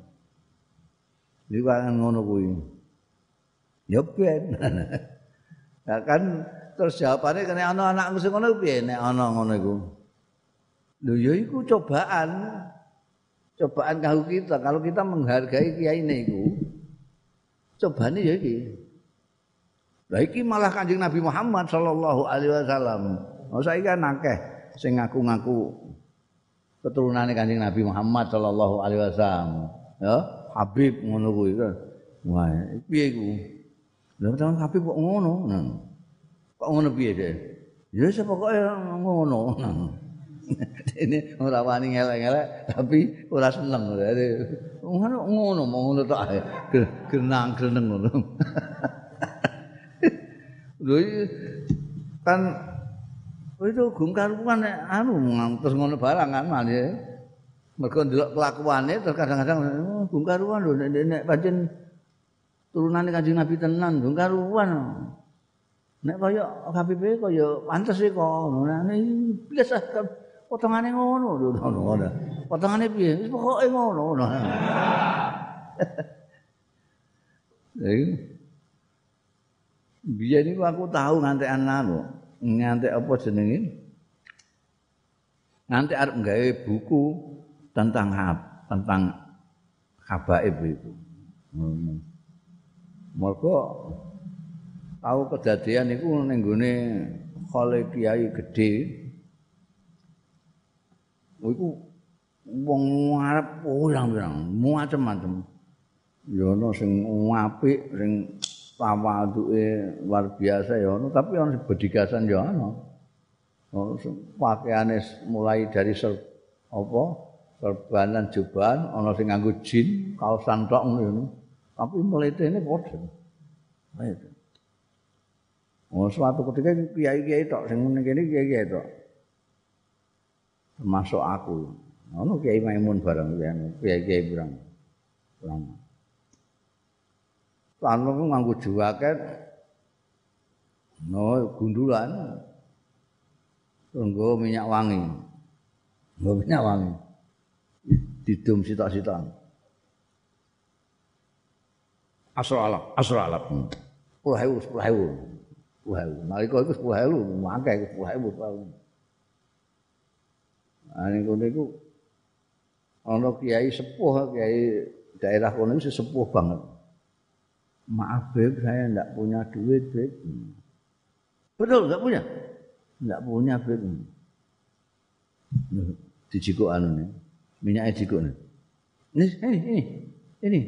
Iku kan ngono kuwi. Ya ben. Nah kan terus jawabane kene ana anakku sing ngono piye nek ana ngono iku. Lho ya iku cobaan. Cobaan kanggo kita kalau kita menghargai kiyaine iku. Cobane ya iki. Lah iki malah Kanjeng Nabi Muhammad sallallahu alaihi wasallam. Oh saiki kan akeh sing ngaku-ngaku keturunane Kanjeng Nabi Muhammad sallallahu alaihi wasallam. Ya, Habib ngono kuwi kan. Wah, piye iku? Lha tenan Habib kok ngono? Nah. Kok ngono piye, Dek? Ya wis pokoke ngono. Ini ora wani ngelek-ngelek tapi ora seneng. Ngono ngono ngono tok ae. Genang greneng ngono. Lho kan itu gung karuan anu terus ngono barang kan male. Mergo ndelok kelakuane terus kadang-kadang gung karuan lho nek pancen turunane Kanjeng Nabi tenan gung karuan. Nek kaya Habib kaya pantes e kok ngono. Biasa potongane ngono lho ngono. Potongane piye? Wis pokoke ngono. Lha biyen niku aku tahu ngantekan anu, ngantek apa jenenge? Ngantek arep gawe buku tentang tentang habaib itu. Hmm. Mergo tahu kedadian niku ning gone khole kiai gedhe. Iku wong arep pirang-pirang, macam-macam. Ya ana sing apik, sing tawaduke luar biasa ya ono, tapi ono bedigasan ya ono. Ono pakaiane mulai dari ser, apa? Serbanan jubahan, ono sing nganggo jin, kaosan tok ngono. Tapi mletene padha. Ha itu. Oh, suatu ketika kiai-kiai tok sing ngene kene kiai-kiai tok. Termasuk aku. Ono Kiai Maimun bareng kiai-kiai pirang. Pirang. Lan nganggo jaket no gundulan nggo minyak wangi. Nggo minyak wangi. Didum sitok-sitok. Asra alap, asra alap. sepuluh ribu, sepuluh ribu. sepuluh ribu. Nalika iku sepuluh ribu, akeh sepuluh ribu. Ane kono iku ana kiai sepuh, kiai daerah kono iku sepuh banget. Maaf Beb, saya enggak punya duit, Beb. Betul, enggak punya? Enggak punya, Beb. Dijikuk anu nih. Minyaknya jikuk nih. Ini, ini, ini. Ini.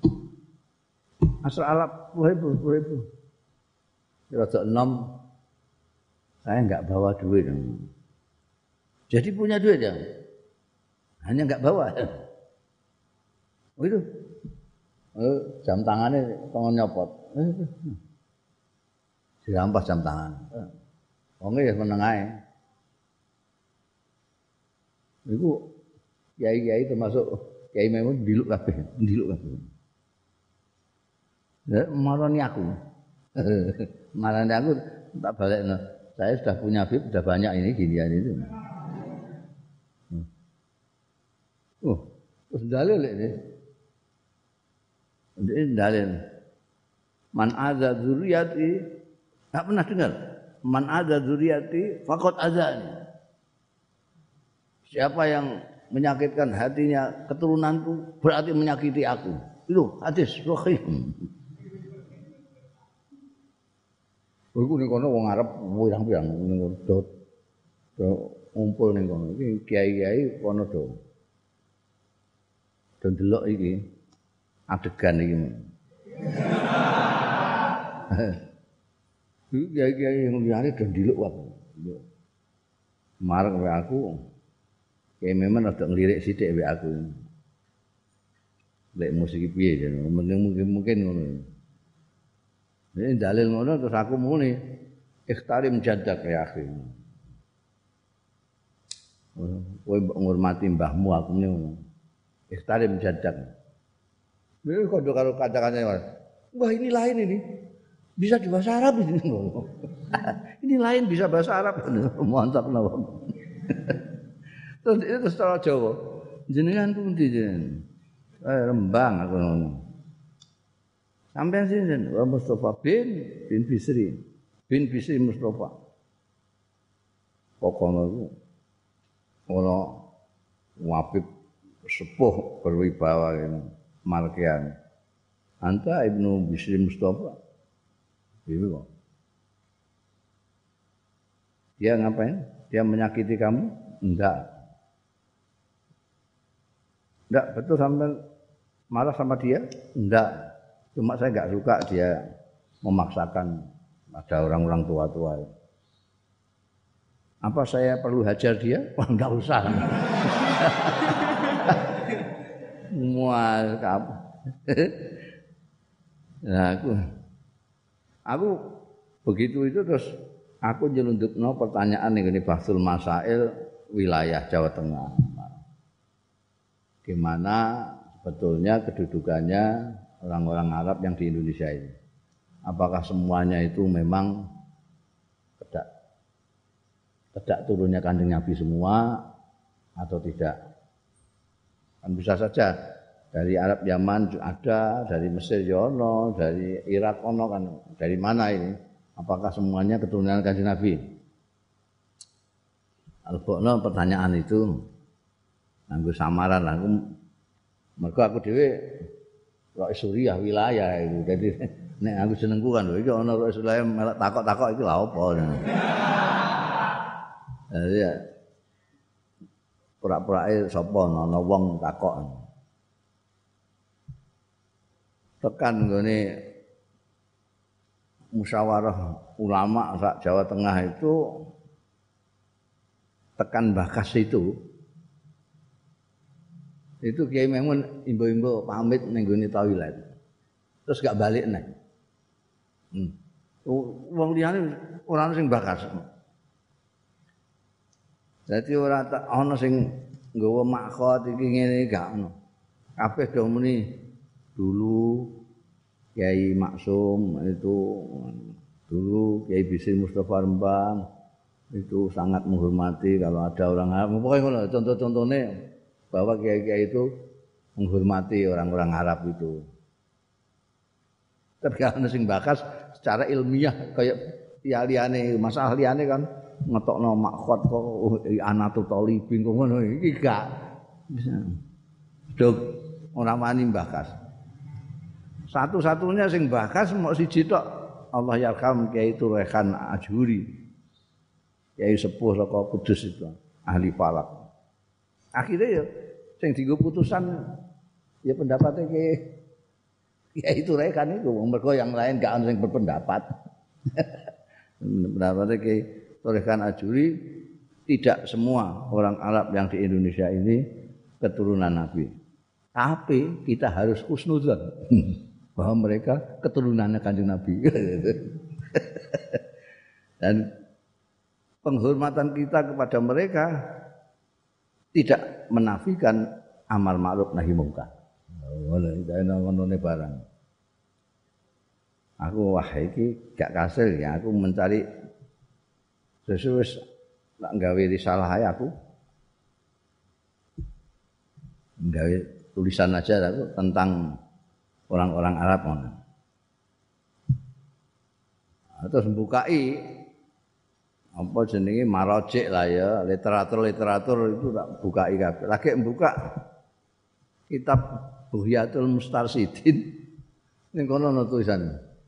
Asal alap sepuluh ribu, sepuluh ribu. Rada enam. Saya enggak bawa duit. Jadi punya duit ya? Hanya enggak bawa. Oh itu. Eh, jam tangannya tangan nyopot. Eh, dirampas jam tangan. Wong ya meneng ae. Iku kiai-kiai termasuk Kiai Maimun ndiluk kabeh, ndiluk kabeh. Ya marani aku. Marani aku tak balekno. Saya sudah punya bib, sudah banyak ini ginian itu. Oh, terus dalil ini. Ini dalil. Man adza dzurriyyati, enggak pernah dengar. Man adza dzurriyyati faqad adzani. Siapa yang menyakitkan hatinya keturunanku berarti menyakiti aku. Itu hadis sahih. Iku ning kono wong Arab pirang-pirang ning kono do ngumpul ning kono. Iki kiai-kiai kono do. Do ndelok iki. Adegan iki. Iki kiai-kiai yang liyane do ndiluk wae. Marek wae aku. Kiai memang rada nglirik sithik wae aku. Lek musik piye jan, mungkin mungkin ngono. Ini dalil ngono terus aku muni ikhtarim jaddak ya akhi. Kowe ngurmati mbahmu aku muni ngono. Ikhtarim jaddak. Ini kok karo kata-katanya, wah ini lain ini, bisa di bahasa Arab ini. Ini lain bisa bahasa Arab, mantap nawa. Terus itu secara Jawa, jenengan pundi jenengan, eh, Rembang aku ngono. Sampai sini, Mustafa bin bin Bisri, bin Bisri Mustafa. Pokoknya itu, ono wabib sepuh berwibawa ini. Malkian Anta Ibnu Bisri Mustafa itu kok dia ngapain? Dia menyakiti kamu? Enggak enggak, betul sampai marah sama dia? Enggak, cuma saya enggak suka dia memaksakan ada orang-orang tua-tua. Apa saya perlu hajar dia? Wah, enggak usah. Mual kamu. Nah, aku aku begitu itu terus aku nyelundupno pertanyaan ning Bahsul Masail wilayah Jawa Tengah. Gimana sebetulnya kedudukannya orang-orang Arab yang di Indonesia ini? Apakah semuanya itu memang kedak kedak turunnya Kanjeng Nabi semua atau tidak? Kan bisa saja dari Arab Yaman ada, dari Mesir yono, dari Irak ono kan, dari mana ini? Apakah semuanya keturunan Kanjeng Nabi? Albokno pertanyaan itu nganggo samaran lah. Aku mergo aku dhewe Rois Suriah wilayah itu. Jadi nek aku senengku kan lho iki ana Rois Suriah melok takok-takok iki lha apa. Jadi ya pura-purake sapa ana wong takok. Tekan nggone musyawarah ulama sak Jawa Tengah itu tekan Bakas itu itu Kiai Maimun imbo-imbo pamit ning gone toilet. Terus gak balik nek. Hmm. Wong liyane ora ana sing Bakas. Dadi ora ana sing nggawa makhot iki ngene gak ono. Kabeh do muni dulu Kiai Maksum itu dulu Kiai Bisri Mustafa Rembang itu sangat menghormati kalau ada orang Arab. Pokoknya ngono contoh-contohnya bahwa kiai-kiai itu menghormati orang-orang Arab itu. Tapi kalau sing Bakas secara ilmiah kayak ya liyane masalah liyane kan ngetokno makhot kok anatu talibin kok ngono iki gak bisa. Dok ora wani Bakas. Satu-satunya sing Bakas mok siji tok Allah yarham Kiai Turekan Ajuri. Kiai sepuh saka Kudus itu ahli falak. Akhirnya ya sing dienggo putusan ya pendapatnya Kiai Kiai Turekan itu mergo yang lain gak ana sing berpendapat. Pendapatnya Kiai Turekan Ajuri tidak semua orang Arab yang di Indonesia ini keturunan Nabi. Tapi kita harus husnudzon bahwa mereka keturunannya Kanjeng Nabi. Dan penghormatan kita kepada mereka tidak menafikan amal ma'ruf nahi mungkar. Ngono iki ngono barang. Aku wah iki gak kasil ya aku mencari sesuatu tak gawe risalah ae aku. Gawe tulisan aja aku tentang orang-orang Arab ngono. Terus mbukai apa jenenge marojik lah ya, literatur-literatur itu tak bukai kabeh. Lagi mbuka kitab Buhyatul Mustarsidin ning kono ana tulisan.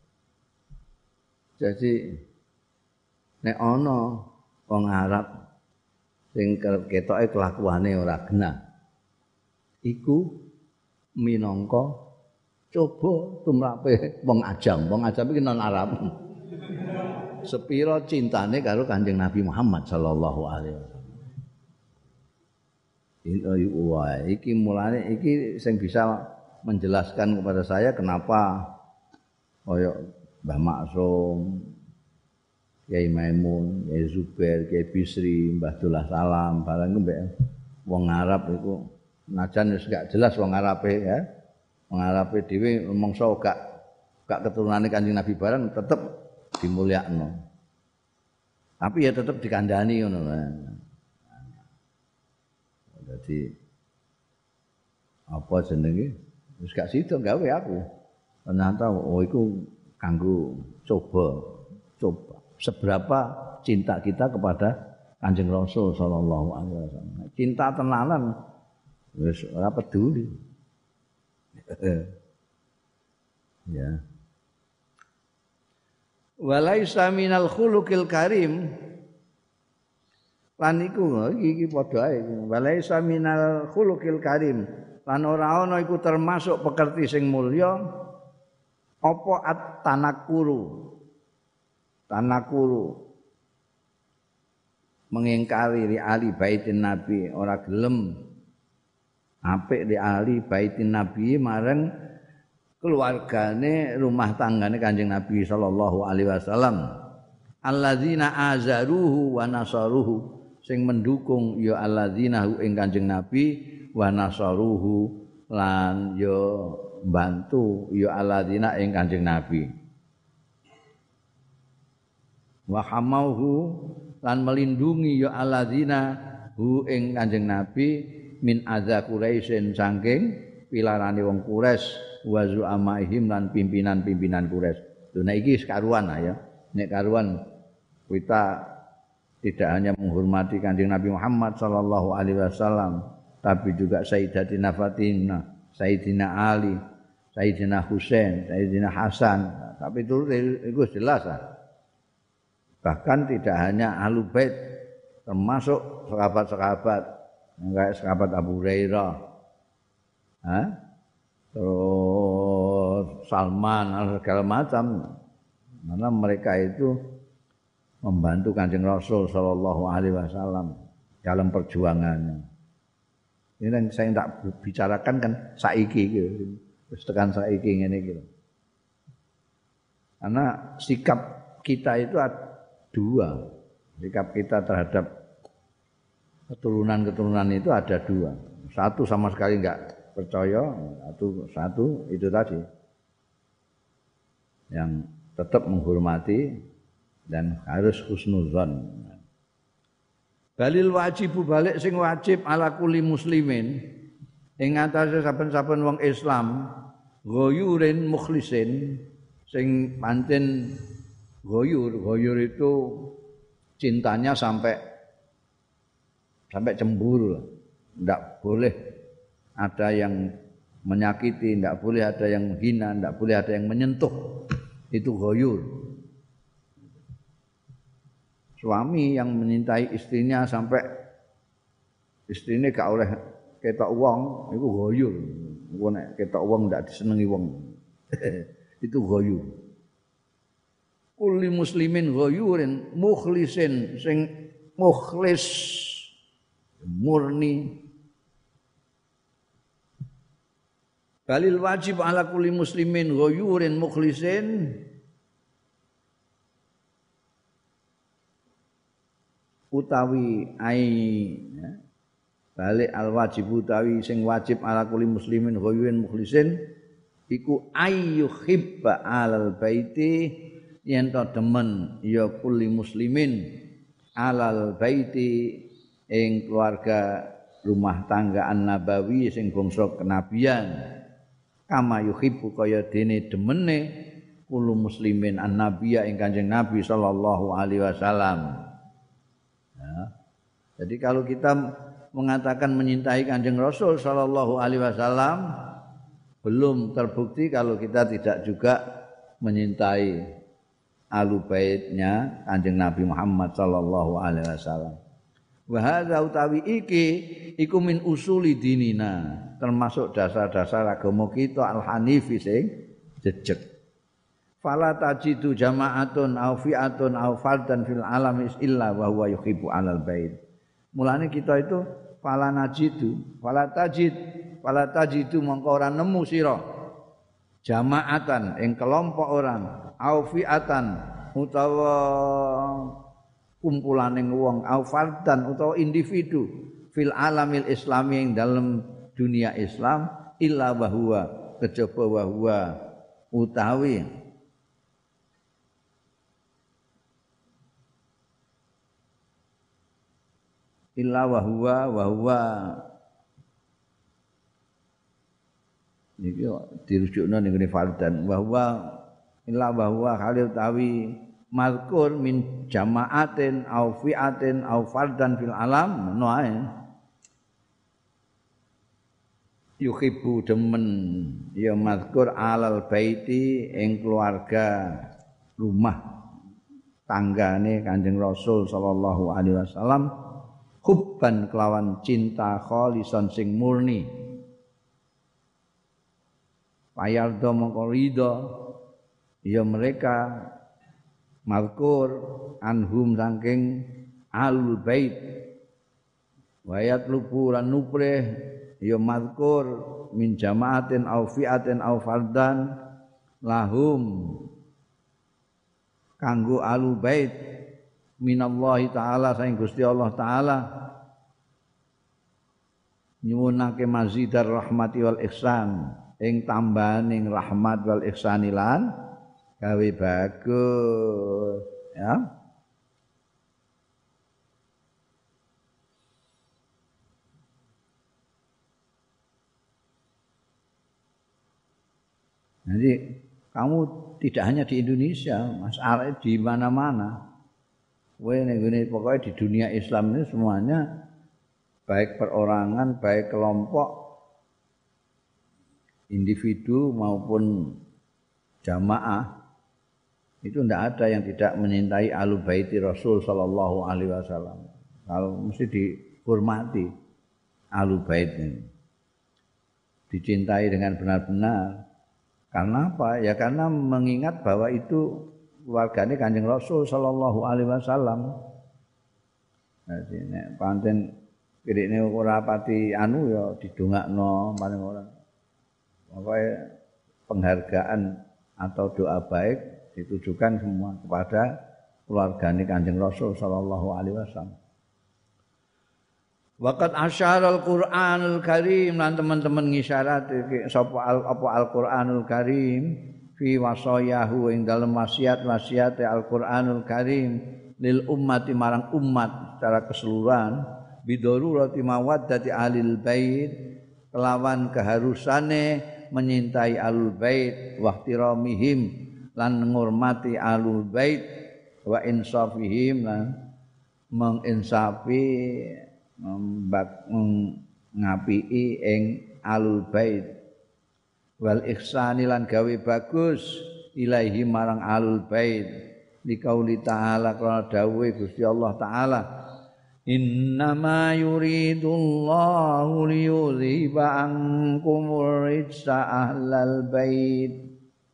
Jadi nek ana wong Arab sing ketoke kelakuane ora genah iku minangka coba tumrape wong ajam. Wong ajam iki non Arab. Sepiro cintane karo Kanjeng Nabi Muhammad sallallahu alaihi wasallam. Ini wah, iki mulane iki sing bisa menjelaskan kepada saya kenapa koyo Mbah Maksum, Kiai Maimun, Kiai Zubair, Kiai Bisri, Mbah Dullah Salam, barang mbek wong Arab iku najan wis gak jelas wong Arabe ya. Wong Arabe dhewe mongso gak gak keturunane Kanjeng Nabi barang tetep dimulyakno. Tapi ya tetep dikandani ngono. Jadi apa jenenge? Wis gak sida gawe aku. Ternyata oh iku kanggo coba coba seberapa cinta kita kepada Kanjeng Rasul sallallahu alaihi wasallam. Cinta tenanan wis ora peduli. Ya. Walaisa minal khuluqil karim lan iku iki iki padha ae walaisa minal khuluqil karim lan ora ana iku termasuk pekerti sing mulya apa at-tanakuru tanakuru mengingkari li ali baitin nabi, ora gelem apik li ali baitin nabi marang keluargane rumah tanggane Kanjeng Nabi sallallahu alaihi wasallam. Alladzina azaruhu wa nasaruhu, sing mendukung ya alladzina hu ing Kanjeng Nabi wa nasaruhu lan ya bantu ya alladzina ing Kanjeng Nabi. Wa hamauhu lan melindungi ya alladzina hu ing Kanjeng Nabi min adza Quraisyin saking pilarane wong Quraisy wa zu'amaihim lan pimpinan-pimpinan Quraisy. Lho nek iki karuan ya. Nek karuan kita tidak hanya menghormati Kanjeng Nabi Muhammad sallallahu alaihi wasallam, tapi juga Sayyidatina Fatimah, Sayyidina Ali, Sayyidina Husain, Sayyidina Hasan. Tapi itu itu jelas lah. Bahkan tidak hanya Ahlul Bait, termasuk sahabat-sahabat kayak sahabat Abu Hurairah, Hah? terus Salman, segala macam. Karena mereka itu membantu Kanjeng Rasul sallallahu alaihi wasallam dalam perjuangannya. Ini yang saya tidak bicarakan kan saiki iki, wis tekan saiki ngene iki. Karena sikap kita itu ada dua. Sikap kita terhadap keturunan-keturunan itu ada dua. Satu sama sekali enggak percaya, satu satu itu tadi. Yang tetap menghormati dan harus husnuzon. Balil wajibu balik sing wajib ala kulli muslimin ing atase saben-saben wong Islam ghoyurin mukhlisin sing pancen ghoyur, ghoyur itu cintanya sampai sampai cemburu. Enggak boleh ada yang menyakiti, enggak boleh ada yang menghina, enggak boleh ada yang menyentuh. Itu ghoyur. Suami yang menyintai istrinya sampai istrinya gak oleh ketok wong, itu ghoyur. Engko nek ketok wong ndak disenengi wong. Itu ghoyur. Kulli muslimin ghoyurin mukhlisin sing mukhlis murni. Balil wajib ala kulli muslimin ghoyurin mukhlisin utawi ai ya. Balik al wajib utawi sing wajib ala kulli muslimin ghoyurin mukhlisin iku ayyuhibba alal baiti yen to demen ya kulli muslimin alal baiti ing keluarga rumah tangga an-nabawi sing bangsa kenabian kama yuhibbu kaya dene demene kullu muslimin an-nabiyya ing Kanjeng Nabi sallallahu alaihi wasallam. Ya. Jadi kalau kita mengatakan menyintai Kanjeng Rasul sallallahu alaihi wasallam belum terbukti kalau kita tidak juga menyintai ahlu baitnya Kanjeng Nabi Muhammad sallallahu alaihi wasallam. Wa hadza utawi iki iku min usuli dinina, termasuk dasar-dasar agama kita al-hanifi sing jejeg. Fala tajidu jama'atun aw fi'atun aw fardan fil alami illa wa huwa yuhibbu alal bait. Mulane kita itu fala najidu, fala tajid, fala tajidu mongko ora nemu sira jama'atan ing kelompok orang, aw fi'atan utawa kumpulaning wong au fardan utawa individu fil alamil islami ing dalam dunia Islam illa bahwa kejaba bahwa utawi illa bahwa bahwa niki dirujukna ning ngene fardan bahwa illa bahwa kali utawi mazkur min jama'atin au fi'atin au fardan fil alam no ae yuhibbu demen ya mazkur alal baiti ing keluarga rumah tanggane Kanjeng Rasul sallallahu alaihi wasallam hubban kelawan cinta khalisan sing murni payardo mongko ridho ya mereka Malkur anhum saking alul bait wa yatlubu lan nuprih ya mazkur min jamaatin au fi'atin au fardan lahum kanggo alul bait minallahi taala saing Gusti Allah taala nyuwunake mazidar rahmati wal ihsan ing tambahaning rahmat wal ihsanilan gawe bagus ya. Jadi kamu tidak hanya di Indonesia, Mas Arif di mana-mana. Kowe ning ngene pokoke di dunia Islam ini semuanya baik perorangan, baik kelompok individu maupun jamaah itu tidak ada yang tidak menyintai Ahlul Baiti Rasul sallallahu alaihi wasallam. Kalau mesti dihormati Ahlul Bait ini. Dicintai dengan benar-benar. Karena apa? Ya karena mengingat bahwa itu keluargane Kanjeng Rasul sallallahu alaihi wasallam. Dadi nek pancen kirine ora pati anu ya didongakno paling ora. Pokoke penghargaan atau doa baik ditujukan semua kepada keluargane Kanjeng Rasul sallallahu alaihi wasallam. Waqat asyarul Qur'anul Karim lan teman-teman ngisyarat sapa apa Al-Qur'anul Karim fi wasayahu ing dalem wasiat-wasiate Al-Qur'anul Karim lil ummati marang umat secara keseluruhan bidharurati mawaddati alil bait kelawan keharusane menyintai alul bait wa ihtiramihim lan ngurmati alul bait wa insafihim lan menginsafi membak ngapii ing alul bait wal ihsani lan gawe bagus ilaihi marang alul bait liqauli ta'ala kana dawuhe Gusti Allah taala innama yuridullahu liyudhiba ankumur rijsa ahlal bait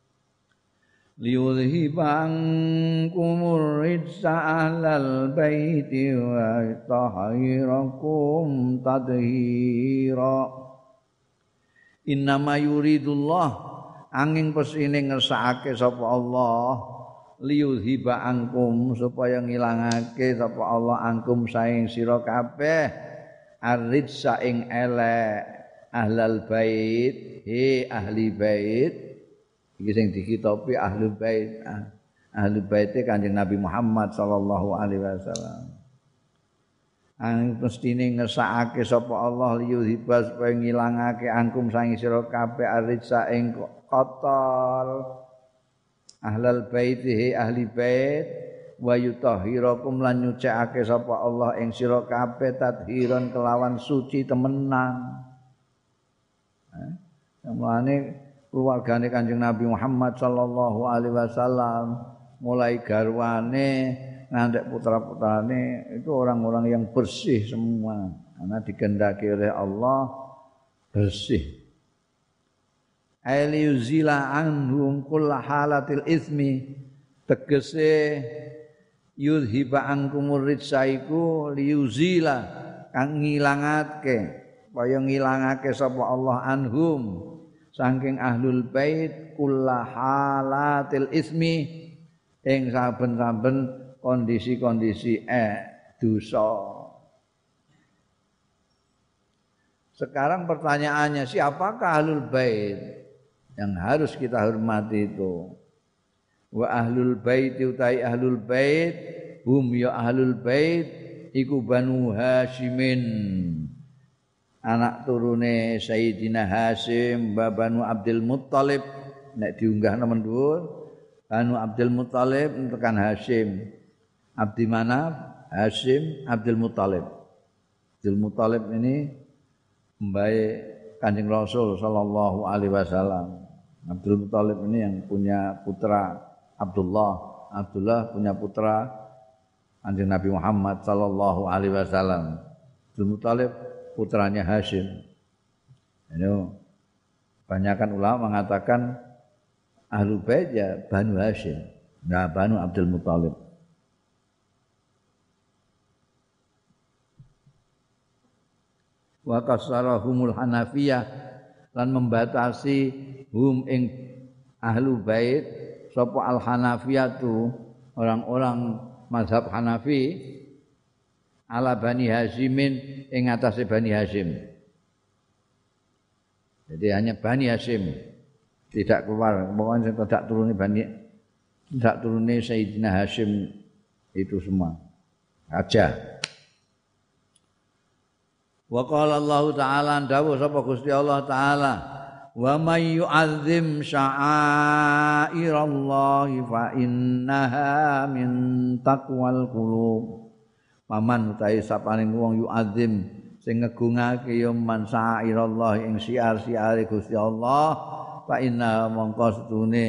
liyudhiba ankumur rijsa ahlal baiti wa tahhirakum tadhira innama yuridullah angin pesine ngersakake sapa Allah liyudhiba ankum supaya ngilangake sapa Allah angkum saing sira kabeh arrijsa ing elek ahlal bait he ahli bait iki sing dikitopi ahlul bait ahlul baite Kanjeng Nabi Muhammad sallallahu alaihi wasallam ang mestine ngesakake sapa Allah liyudhiba supaya ngilangake angkum saing sira kabeh arrijsa ing kotor ahlal baiti ahli bait wa yutahhirakum lan nyucikake sapa Allah ing sira kabeh tadhiran kelawan suci temenan. Eh, mulane keluargane Kanjeng Nabi Muhammad sallallahu alaihi wasallam mulai garwane ngantek putra-putrane itu orang-orang yang bersih semua karena dikehendaki oleh Allah bersih. Ailiyuzila anhum kulla halatil ismi tegese yudhiba ankumur rijsaiku liyuzila kang ngilangake kaya ngilangake sapa Allah anhum saking ahlul bait kulla halatil ismi ing saben-saben kondisi-kondisi eh dosa. Sekarang pertanyaannya siapakah ahlul bait yang harus kita hormati itu? Wa ahlul bait utai ahlul bait hum ya ahlul bait iku Banu Hasyimin anak turune Sayyidina Hasyim Banu Abdul Muttalib nek diunggah nemen dhuwur Banu Abdul Muttalib tekan Hasyim Abdi Manaf Hasyim Abdul Muttalib Abdul Muttalib ini mbae Kanjeng Rasul sallallahu alaihi wasallam. Abdul Muttalib ini yang punya putra Abdullah, Abdullah punya putra Kanjeng Nabi Muhammad sallallahu alaihi wasallam. Abdul Muttalib putranya Hasyim. Ini kebanyakan ulama mengatakan Ahlul Bait ya Banu Hasyim, nah Banu Abdul Muttalib. wa kasarahumul Hanafiyah lan membatasi hum ing ahlu bait sapa al Hanafiyah tu orang-orang mazhab Hanafi ala Bani Hashimin ing atase Bani Hashim. Jadi hanya Bani Hashim tidak keluar, pokoknya tidak turuni Bani, tidak turuni Sayyidina Hashim itu semua aja. Wa qala Allah taala dawuh sapa Gusti Allah taala wa may yu'azzim sya'airallahi fa innaha min taqwal qulub. Paman utahe sapane wong yu'azzim sing ngegungake ya man sya'airallah ing siar-siare Gusti Allah fa inna mongko setune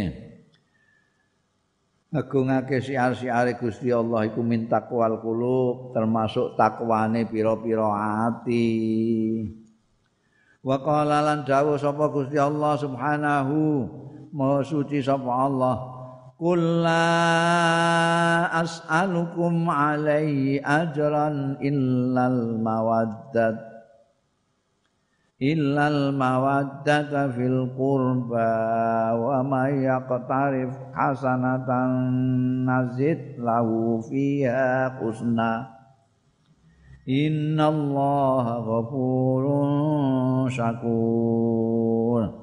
ngegungake siar-siare Gusti Allah iku min taqwal qulub termasuk takwane pira-pira ati. Wa qala lan dawuh sapa Gusti Allah subhanahu maha suci sapa Allah qul la as'alukum alaihi ajran illal mawaddat illal mawaddata fil qurba wa may yaqtarif hasanatan nazid lahu fiha husna innallaha ghafurun syakur.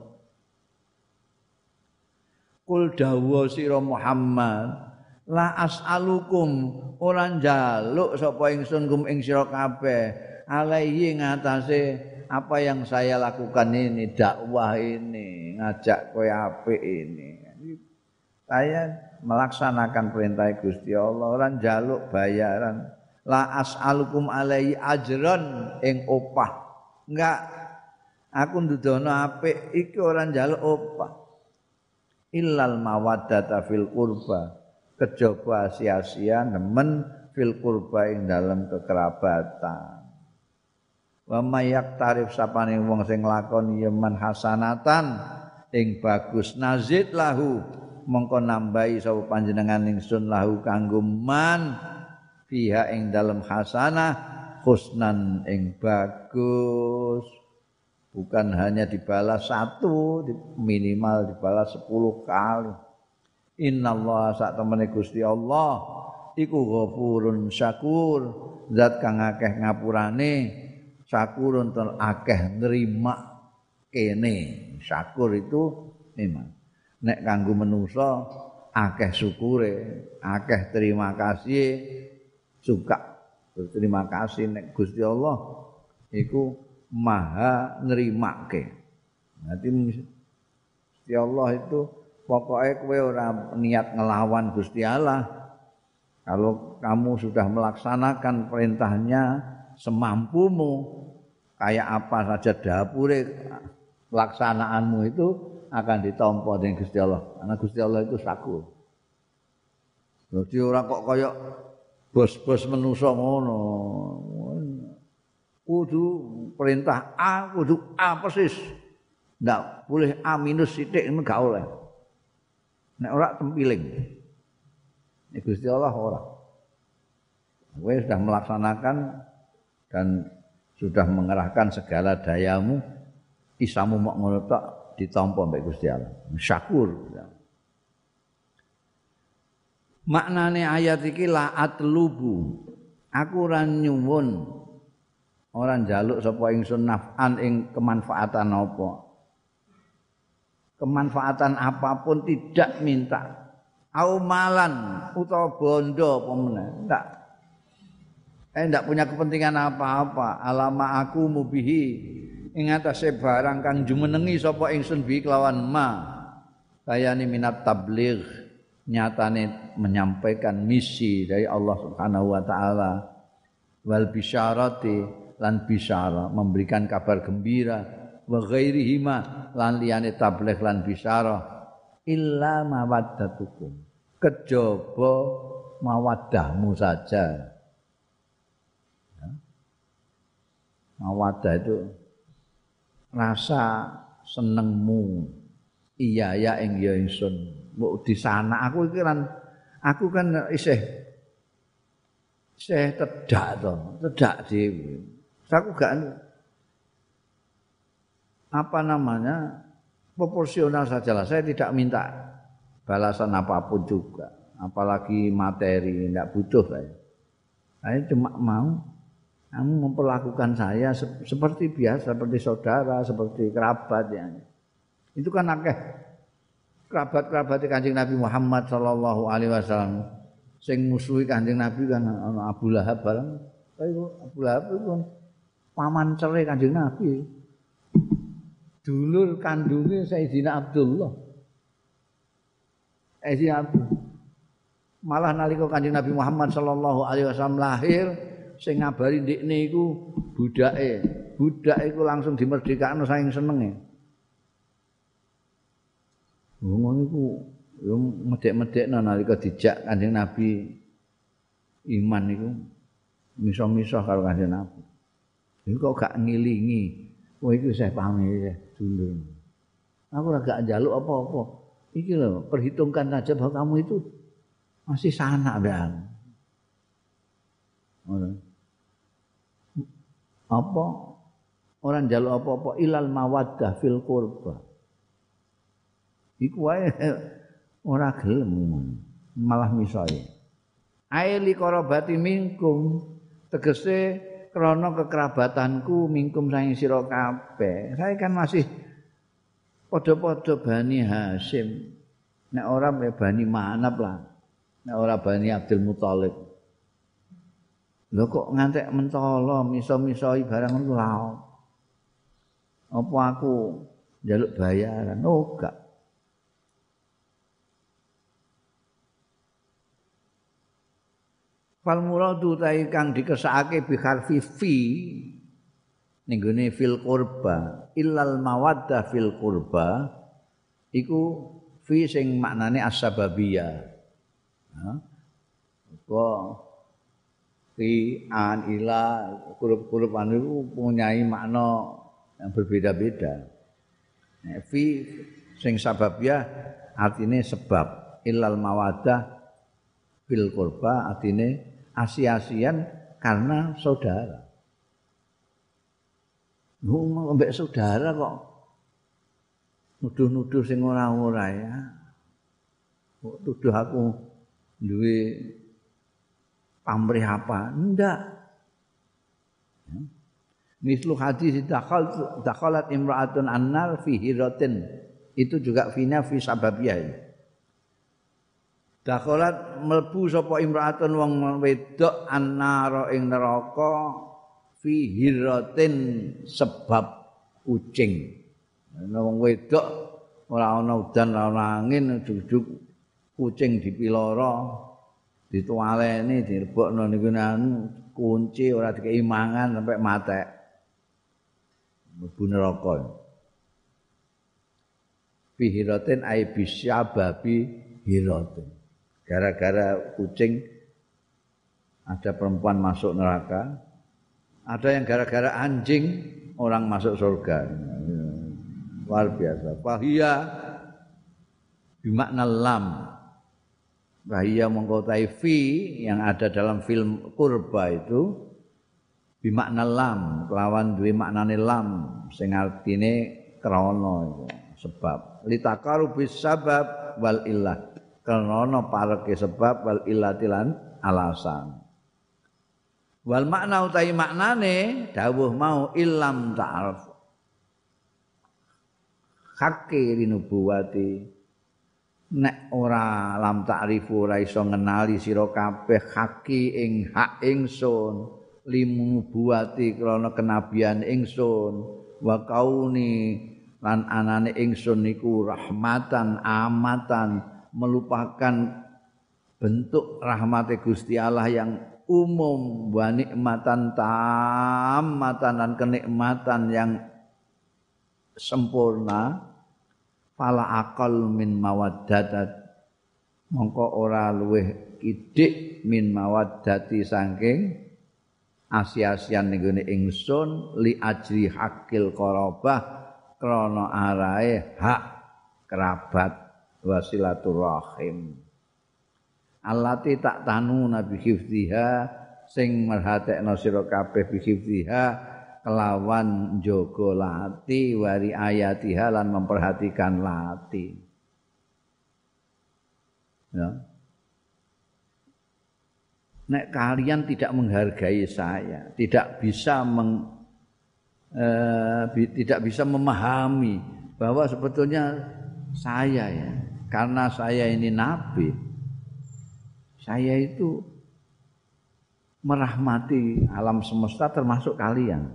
Kul dawuh sira Muhammad la as'alukum ora njaluk sapa ingsun kum ing sira kabeh alaihi ngatasé apa yang saya lakukan ini, dakwah ini, ngajak kowe apik ini. Saya melaksanakan perintah Gusti Allah, ora njaluk bayaran. La as'alukum alaihi ajran ing opah. Enggak, aku ndudono apik iki ora njaluk opah. Illal mawaddata fil qurba, kejaba sia-sia nemen fil qurba ing dalam kekerabatan. Wa mayak tarif sapane wong sing lakoni yeman hasanatan ing bagus nazid lahu mongko nambahi sapa panjenengan ingsun lahu kanggo man fiha ing dalam hasanah husnan ing bagus. Bukan hanya dibalas satu, minimal dibalas sepuluh kali. Innallaha sak temene Gusti Allah iku ghafurun syakur, zat kang akeh ngapurane, syakurun tur akeh nrima kene. Syakur itu memang nek kanggo manusa akeh syukure, akeh terima kasih, suka berterima kasih nek Gusti Allah iku maha nerimake. Nanti Gusti Allah itu pokoknya kowe ora niat ngelawan Gusti Allah. Kalau kamu sudah melaksanakan perintahnya semampumu, kayak apa saja dapure pelaksanaanmu itu akan ditampa dening Gusti Allah. Karena Gusti Allah itu syakur. Jadi ora kok kaya bos-bos menungso ngono. Kudu perintah A, kudu A persis. Ndak boleh A minus sithik men gak oleh. Nek ora tempiling. Nek Gusti Allah ora. Kowe sudah melaksanakan dan sudah mengerahkan segala dayamu, isamu mok ngono tok ditampa mbek Gusti Allah. Syakur. Maknane ayat iki la atlubu. Aku ora nyuwun ora njaluk sapa ingsun naf'an ing kemanfaatan apa. Kemanfaatan apapun tidak minta. Au malan utawa bondo apa meneh. Enggak. Eh ndak punya kepentingan apa-apa. Alama aku mubihi ing atase barang kang jumenengi sapa ingsun bi kelawan ma. Kayane minat tabligh, nyatane menyampaikan misi dari Allah Subhanahu wa taala. Wal bisyarati lan bisyara, memberikan kabar gembira, wa ghairihima lan liyane tabligh lan bisyara illa mawaddatukum, kejaba mawaddahmu saja. Mawaddah itu rasa senengmu, iya ya ing ya ingsun. Mbok di sana aku iki kan aku kan isih isih tedak to, tedak dhewe. Aku gak apa namanya proporsional sajalah. Saya tidak minta balasan apapun juga, apalagi materi, tidak butuh saya. Saya cuma mau kamu memperlakukan saya seperti biasa, seperti saudara, seperti kerabat ya. Itu kan akeh kerabat-kerabat Kanjeng Nabi Muhammad sallallahu alaihi wasallam sing musuhi Kanjeng Nabi kan ana Abu Lahab bareng. Abu Lahab itu paman cere Kanjeng Nabi. Dulur kandunge Sayyidina Abdullah. Sayyidina Abdullah. Malah nalika Kanjeng Nabi Muhammad sallallahu alaihi wasallam lahir, sing ngabari ndekne iku budake. Budak iku langsung dimerdekakno saking senenge. Ngono iku yo medhek-medhekno nalika dijak Kanjeng Nabi iman iku misah-misah karo Kanjeng Nabi. Iku kok gak ngilingi. Kowe iku isih pamit dulur. Aku ora gak njaluk apa-apa. Iki lho, perhitungkan saja bahwa kamu itu masih sanak dan. Apa orang njaluk apa-apa ilal mawaddah fil qurba. Iku wae ora gelem malah misai. Aili qarabati minkum tegese krana kekerabatanku minkum saking sira kabeh. Saya kan masih padha-padha Bani Hasyim. Nek ora Bani Manab lah. Nek ora Bani Abdul Muthalib. Lho kok ngantek mentolo miso-misoi barang ngono lha. Apa aku njaluk bayaran? Oh gak. Fal muradu ta kang dikesakake bi harfi fi ning gone fil qurba illal mawaddah fil qurba iku fi sing maknane as-sababiyah. Ha? Kok fi an ila huruf-huruf anu punyai makna yang berbeda-beda. Nah, fi sing sababiyah artine sebab illal mawaddah fil qurba artine asi-asian karena saudara. Lu mbek saudara kok nuduh-nuduh sing ora-ora ya. Kok tuduh aku duwe pamrih apa? Enggak. Mislu hadis dakhal dakhalat imra'atun annar fi hiratin. Itu juga fina fi sababiyah ini. Dakhalat mlebu sapa imra'atun wong wedok annara ing neraka fi hiratin sebab kucing. Ana wong wedok ora ana udan ora ana angin ujug-ujug kucing dipiloro ditualeni direbokno niku anu kunci ora dikei mangan sampai matek. Mlebu neraka. Fi hiratin ai bisyababi hiratin. Gara-gara kucing ada perempuan masuk neraka, ada yang gara-gara anjing orang masuk surga. Luar biasa. Fahiyya bimakna lam. Fahiyya mengkotai fi yang ada dalam film kurba itu bimakna lam, kelawan duwe maknane lam sing artine krana itu sebab. Litakaru bis sabab wal illah. Karena pareke sebab wal illatilan alasan. Wal makna utai maknane dawuh mau illam ta'aruf. Hakke rinubuwati nek ora lam ta'rifu ora iso ngenali sira kabeh haki ing hak ingsun limubuwati krana kenabian ingsun wa kauni lan anane ingsun niku rahmatan amatan melupakan bentuk rahmat Gusti Allah yang umum wa nikmatan tammatan dan kenikmatan yang sempurna fala aqal min mawaddatat mongko ora luweh kidik min mawaddati saking asi-asian ning gone ingsun li ajri hakil qarabah krana arahe hak kerabat wasilaturrahim allati tak tanu nabi hifdziha sing merhatekno sira kabeh bi hifdziha kelawan njaga lati wari ayatiha lan memperhatikan lati. Ya. Nek kalian tidak menghargai saya, tidak bisa meng, eh, tidak bisa memahami bahwa sebetulnya saya ya, karena saya ini nabi, saya itu merahmati alam semesta termasuk kalian.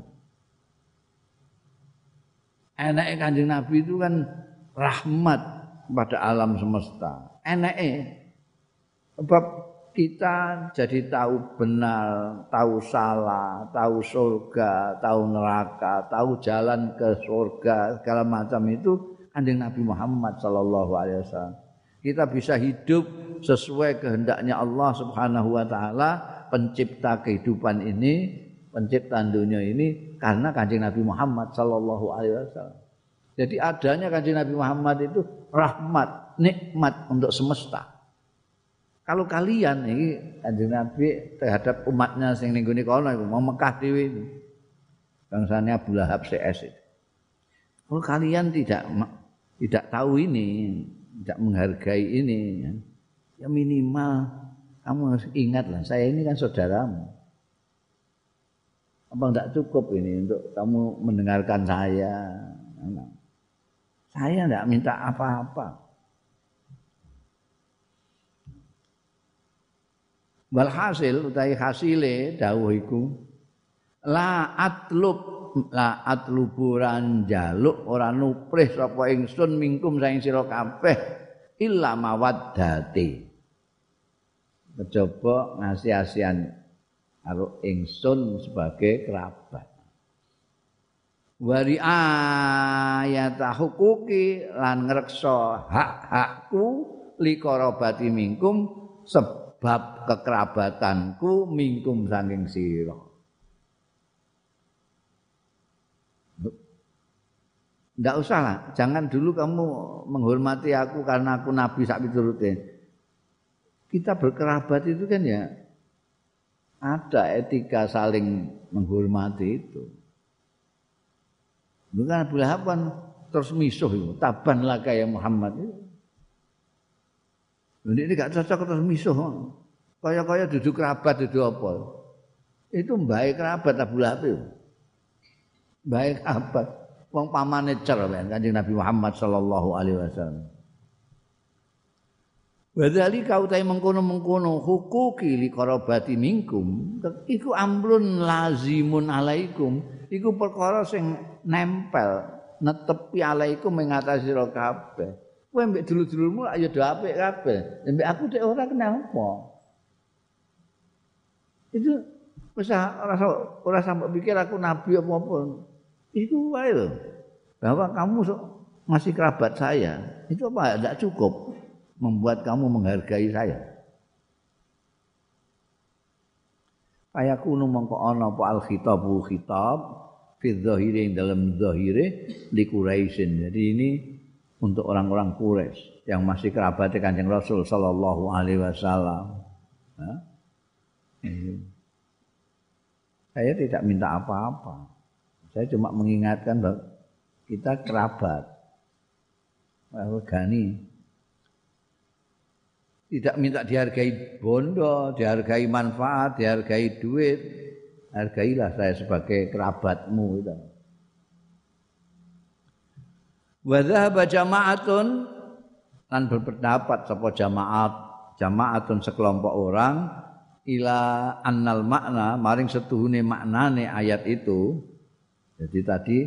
Enake Kanjeng Nabi itu kan rahmat pada alam semesta. Enake sebab kita jadi tahu benar, tahu salah, tahu surga, tahu neraka, tahu jalan ke surga, segala macam itu Kanjeng Nabi Muhammad sallallahu alaihi wasallam. Kita bisa hidup sesuai kehendaknya Allah Subhanahu wa taala, pencipta kehidupan ini, pencipta dunia ini karena Kanjeng Nabi Muhammad sallallahu alaihi wasallam. Jadi adanya Kanjeng Nabi Muhammad itu rahmat, nikmat untuk semesta. Kalau kalian ini Kanjeng Nabi terhadap umatnya sing ning gone kono iku mau Mekah dhewe itu. Bangsane Abu Lahab C S itu. Kalau kalian tidak tidak tahu ini, tidak menghargai ini, ya minimal kamu harus ingatlah, saya ini kan saudaramu. Apa enggak cukup ini untuk kamu mendengarkan saya? Saya enggak minta apa-apa. Walhasil utawi hasile dawuh iku la atlub la atluburan jaluk ora nuprih sapa ingsun mingkum saing sira kabeh illa mawaddati kejaba ngasih-asihan karo ingsun sebagai kerabat wari ayat hukuki lan ngreksa hak-hakku likorobati mingkum sebab bab kekerabatanku mingkum saking sira. Ndak usah lah, jangan dulu kamu menghormati aku karena aku nabi sak piturute. Kita berkerabat itu kan ya ada etika saling menghormati itu. Bukan Abu Lahab kan terus misuh itu, taban laka ya Muhammad itu. Ini gak cocok terus misuh. Kaya-kaya duduk kerabat duduk apa. Itu baik kerabat Abu Lahab. Baik kerabat. Wong pamane cer Kanjeng Nabi Muhammad sallallahu alaihi wasallam. Wa dzalika utai mengkono-mengkono hukuki li qarabati minkum iku amrun lazimun alaikum. Iku perkara sing nempel netepi alaikum ing atas sira kabeh. Kowe mbek dulur-dulurmu ayo do apik kabeh. Mbek aku dhek ora kenapa. Itu wis ora ora sampe pikir aku nabi apa-apa. Itu wae lho. Bahwa kamu masih kerabat saya. Itu apa enggak cukup membuat kamu menghargai saya. Ayakunu mongko ana apa al khitabu khitab fi dzahiri dalam zahire li Quraisyin. Jadi ini untuk orang-orang Quraisy yang masih kerabat Kanjeng Rasul sallallahu alaihi wasallam. Nah, saya tidak minta apa-apa. Saya cuma mengingatkan bahwa kita kerabat. Bahwa Gani tidak minta dihargai bondo, dihargai manfaat, dihargai duit. Hargailah saya sebagai kerabatmu itu. Wa dhahaba jama'atun lan berpendapat sapa jamaat jamaatun sekelompok orang ila annal makna maring setuhune maknane ayat itu. Jadi tadi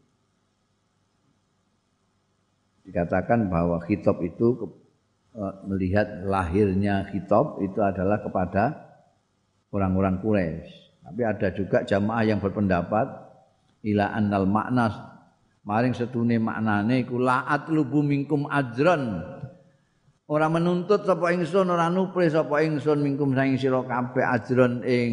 dikatakan bahwa khitab itu melihat lahirnya khitab itu adalah kepada orang-orang Quraisy. Tapi ada juga jamaah yang berpendapat ila annal makna maring setune maknane iku la'at lubu minkum ajran. Ora menuntut sapa ingsun, ora nupri sapa ingsun minkum saing sira kabeh ajran ing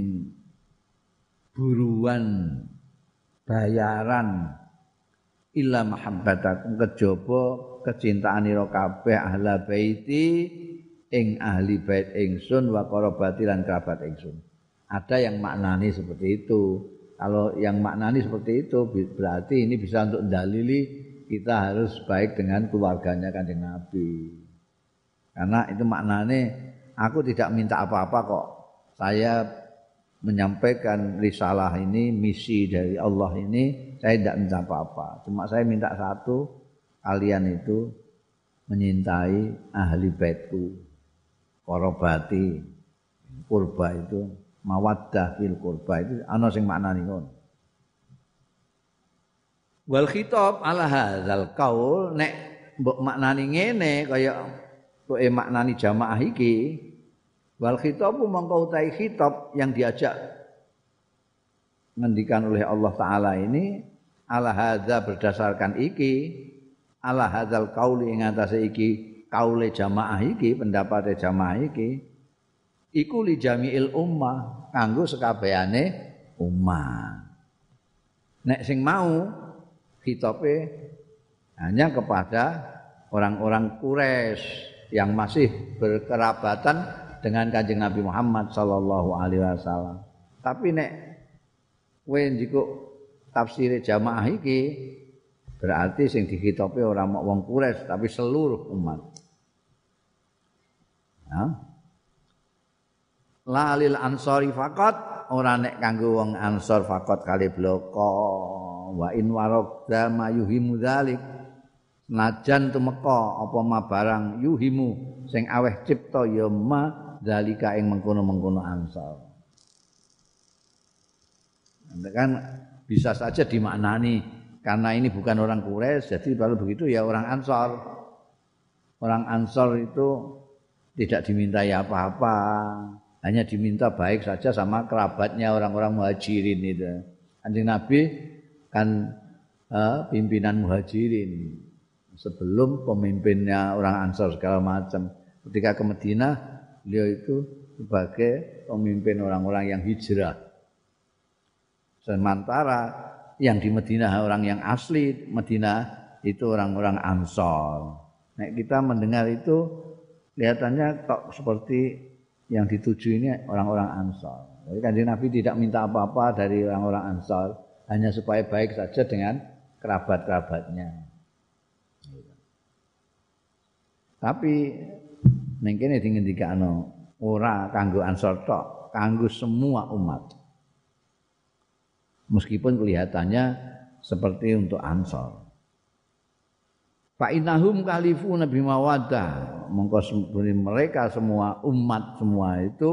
buruan bayaran illa mahabbatakum kejaba kecintaanira kabeh ahla baiti ing ahli bait ingsun wa qarabati lan kerabat ingsun. Ada yang maknani seperti itu. Kalau yang maknani seperti itu berarti ini bisa untuk dalili kita harus baik dengan keluarganya Kanjeng Nabi. Karena itu maknanya aku tidak minta apa-apa kok. Saya menyampaikan risalah ini, misi dari Allah ini, saya tidak minta apa-apa. Cuma saya minta satu, kalian itu menyintai ahli baitku, korobati, kurba itu, mawaddah fil kurba itu ana sing maknani ngono. Wal khitab ala hadzal qaul nek mbok maknani ngene kaya kok e maknani jamaah iki wal khitabu mongko utahe khitab yang diajak ngendikan oleh Allah taala ini ala hadza berdasarkan iki ala hadzal qauli ing atase iki kaule jamaah iki pendapate jamaah iki iku li jami'il ummah kanggo sekabehane ummah. Nek sing mau khitabe hanya kepada orang-orang Quraisy yang masih berkerabatan dengan Kanjeng Nabi Muhammad sallallahu alaihi wasallam. Tapi nek kowe njikuk tafsire jamaah iki berarti sing dikhitabe ora mok wong Quraisy tapi seluruh umat. Ya. La lil ansori faqat ora nek kanggo wong ansor faqat kali bloko wa in waradda mayuhimu dzalik najan tumeka apa ma barang yuhimu sing aweh cipta ya ma dalika ing mengkono-mengkono ansor. Kan bisa saja dimaknani karena ini bukan orang Quraisy jadi kalau begitu ya orang Ansor. Orang Ansor itu tidak dimintai apa-apa, hanya diminta baik saja sama kerabatnya orang-orang Muhajirin itu. Kanjeng Nabi kan eh, pimpinan Muhajirin sebelum pemimpinnya orang Ansor segala macam. Ketika ke Madinah beliau itu sebagai pemimpin orang-orang yang hijrah. Sementara yang di Madinah orang yang asli Madinah itu orang-orang Ansor. Nah, kita mendengar itu kelihatannya kok seperti yang dituju ini orang-orang Ansor. Jadi Kanjeng Nabi tidak minta apa-apa dari orang-orang Ansor, hanya supaya baik saja dengan kerabat-kerabatnya. Tapi ning kene dingendikano ora kanggo Ansor tok, kanggo semua umat. Meskipun kelihatannya seperti untuk Ansor. Fa innahum kalifuna bimawaddah, mongko mereka semua umat semua itu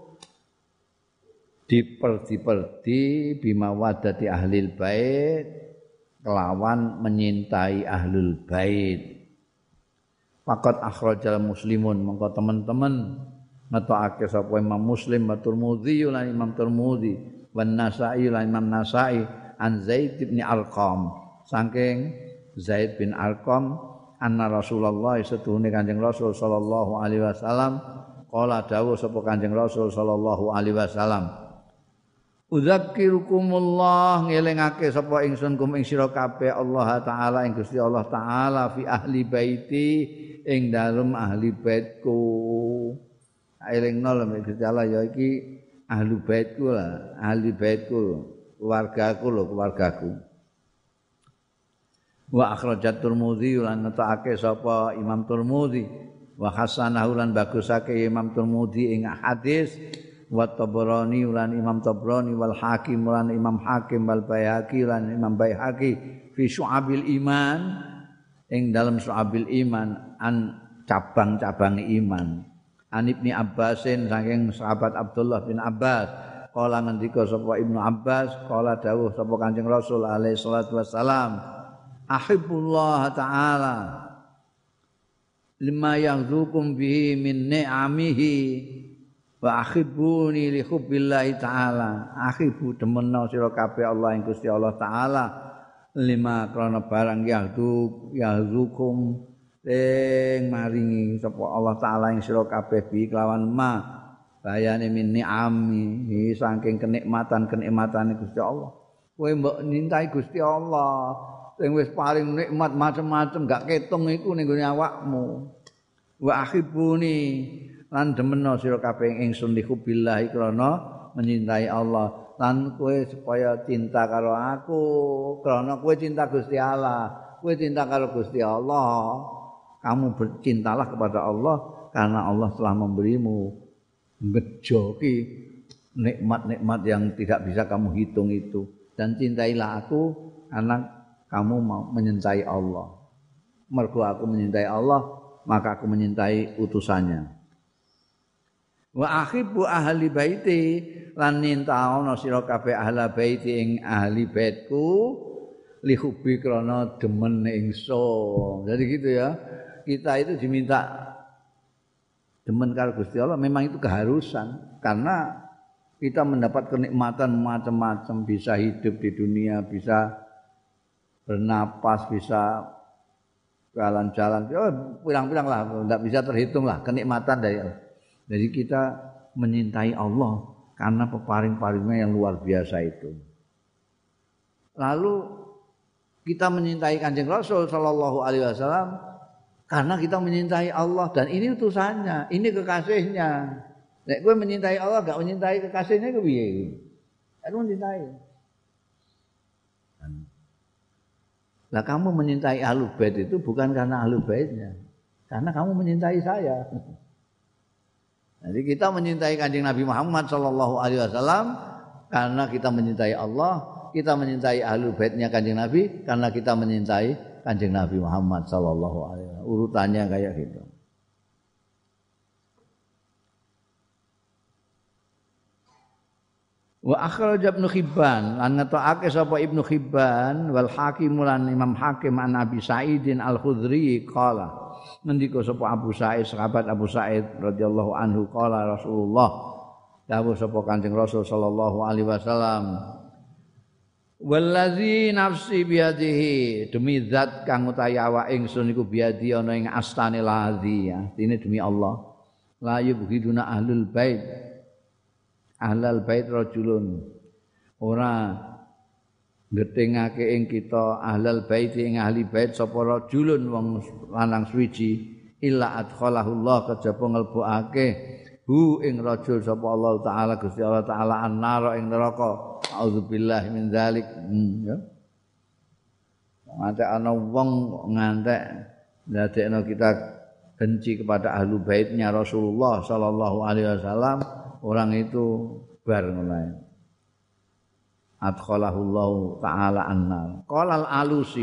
diperdi-perdi bimawaddati ahlil bait kelawan menyintai ahlul bait. Faqat akhrajal muslimun mongko teman-teman ngetokake sapa Imam Muslim wa Tirmidzi lan Imam Tirmidzi wan Nasa'i lan Imam Nasa'i an Zaid bin Arqam saking Zaid bin Arqam anna Rasulullah setuhune Kanjeng Rasul sallallahu alaihi wasallam qala dawuh sapa Kanjeng Rasul sallallahu alaihi wasallam Udzakirukumullah ngelingake sapa ingsun kum ing sira kabeh Allah taala ing Gusti Allah taala fi ahli baiti ing dalem ahli baitku elingno lho Gusti Allah ya iki ahli baitku lah ahli baitku keluargaku lho keluargaku wa akhrajat Tirmidzi lan netake sapa Imam Tirmidzi wa hasanahu lan bagusake Imam Tirmidzi ing hadis wa Tabrani lan Imam Tabrani wal Hakim lan Imam Hakim wal Baihaqi lan Imam Baihaqi fi Syu'abil Iman ing dalam Syu'abil Iman an cabang-cabang iman an Ibnu Abbasin saking sahabat Abdullah bin Abbas kala ngendika sapa Ibnu Abbas kala dawuh sapa Kanjeng Rasul alaihi salatu wassalam ahibbullah ta'ala lima yaghzukum bihi min ni'amihi wa akhibuni li hubbillahi ta'ala akhibu demenna sira kabeh Allah ing Gusti Allah taala lima krana barang yaghzuk yaghzukum sing maringi sapa Allah taala ing sira kabeh bi kelawan ma bayane min ni'ami saking kenikmatan-kenikmatane Gusti Allah kowe mbok nintai Gusti Allah sing wis paling nikmat macam-macam gak ketung iku ning gone awakmu wa akhibuni lan demena sira kabeh ingsun li hubbillahi krana menyintai Allah lan kowe supaya cinta karo aku karena kowe cinta Gusti Allah, kowe cinta karo Gusti Allah, kamu bercintalah kepada Allah karena Allah telah memberimu ngejoki nikmat-nikmat yang tidak bisa kamu hitung itu, dan cintailah aku karena kamu mau menyintai Allah. Mergo aku menyintai Allah, maka aku menyintai utusannya. Wa ahibbu ahli baiti lan nintaono sira kabeh ahli baiti ing ahli baitku li hubbi krana demen ingsun. Jadi gitu ya. Kita itu diminta demen karo Gusti Allah memang itu keharusan karena kita mendapat kenikmatan macam-macam, bisa hidup di dunia, bisa bernapas, bisa jalan-jalan. Oh, pirang-pirang lah, enggak bisa terhitung lah kenikmatan dari Allah. Jadi kita menyintai Allah karena peparing-paringnya yang luar biasa itu. Lalu kita menyintai Kanjeng Rasul sallallahu alaihi wasallam karena kita menyintai Allah dan ini utusannya, ini kekasihnya. Nek kowe menyintai Allah enggak menyintai kekasihnya ku piye? Aku menyintai. Lah kamu menyintai Ahlul Bait itu bukan karena Ahlul Baitnya, karena kamu menyintai saya. Jadi kita menyintai Kanjeng Nabi Muhammad sallallahu alaihi wasallam karena kita menyintai Allah, kita menyintai Ahlul Baitnya Kanjeng Nabi karena kita menyintai Kanjeng Nabi Muhammad sallallahu alaihi wasallam. Urutannya kayak gitu. Wa akhraj Ibnu Hibban lan ngetokake sapa Ibnu Hibban wal Hakim lan Imam Hakim an Abi Sa'idin Al-Khudri qala ngendika sapa Abu Sa'id sahabat Abu Sa'id radhiyallahu anhu qala Rasulullah dawuh sapa Kanjeng Rasul sallallahu alaihi wasallam wallazi nafsi biadihi demi zat kang utawi awak ingsun iku biadi ana ing astane lazi artine demi Allah la yubghiduna ahlul bait ahlal bait rajulun ora ngetengake ing kita ahlal bait ing ahli bait sapa rajulun wong lanang suwiji illa adkhalahu Allah kejaba nglebokake hu ing rajul sapa Allah taala Gusti Allah taala annara ing neraka auzubillahi min dzalik hmm, ya ngantek ana wong ngantek ndadekno kita benci kepada ahlu baitnya Rasulullah sallallahu alaihi wasallam, orang itu bar ngono. Adkhalahullahu ta'ala annar. Qala al-Alusi,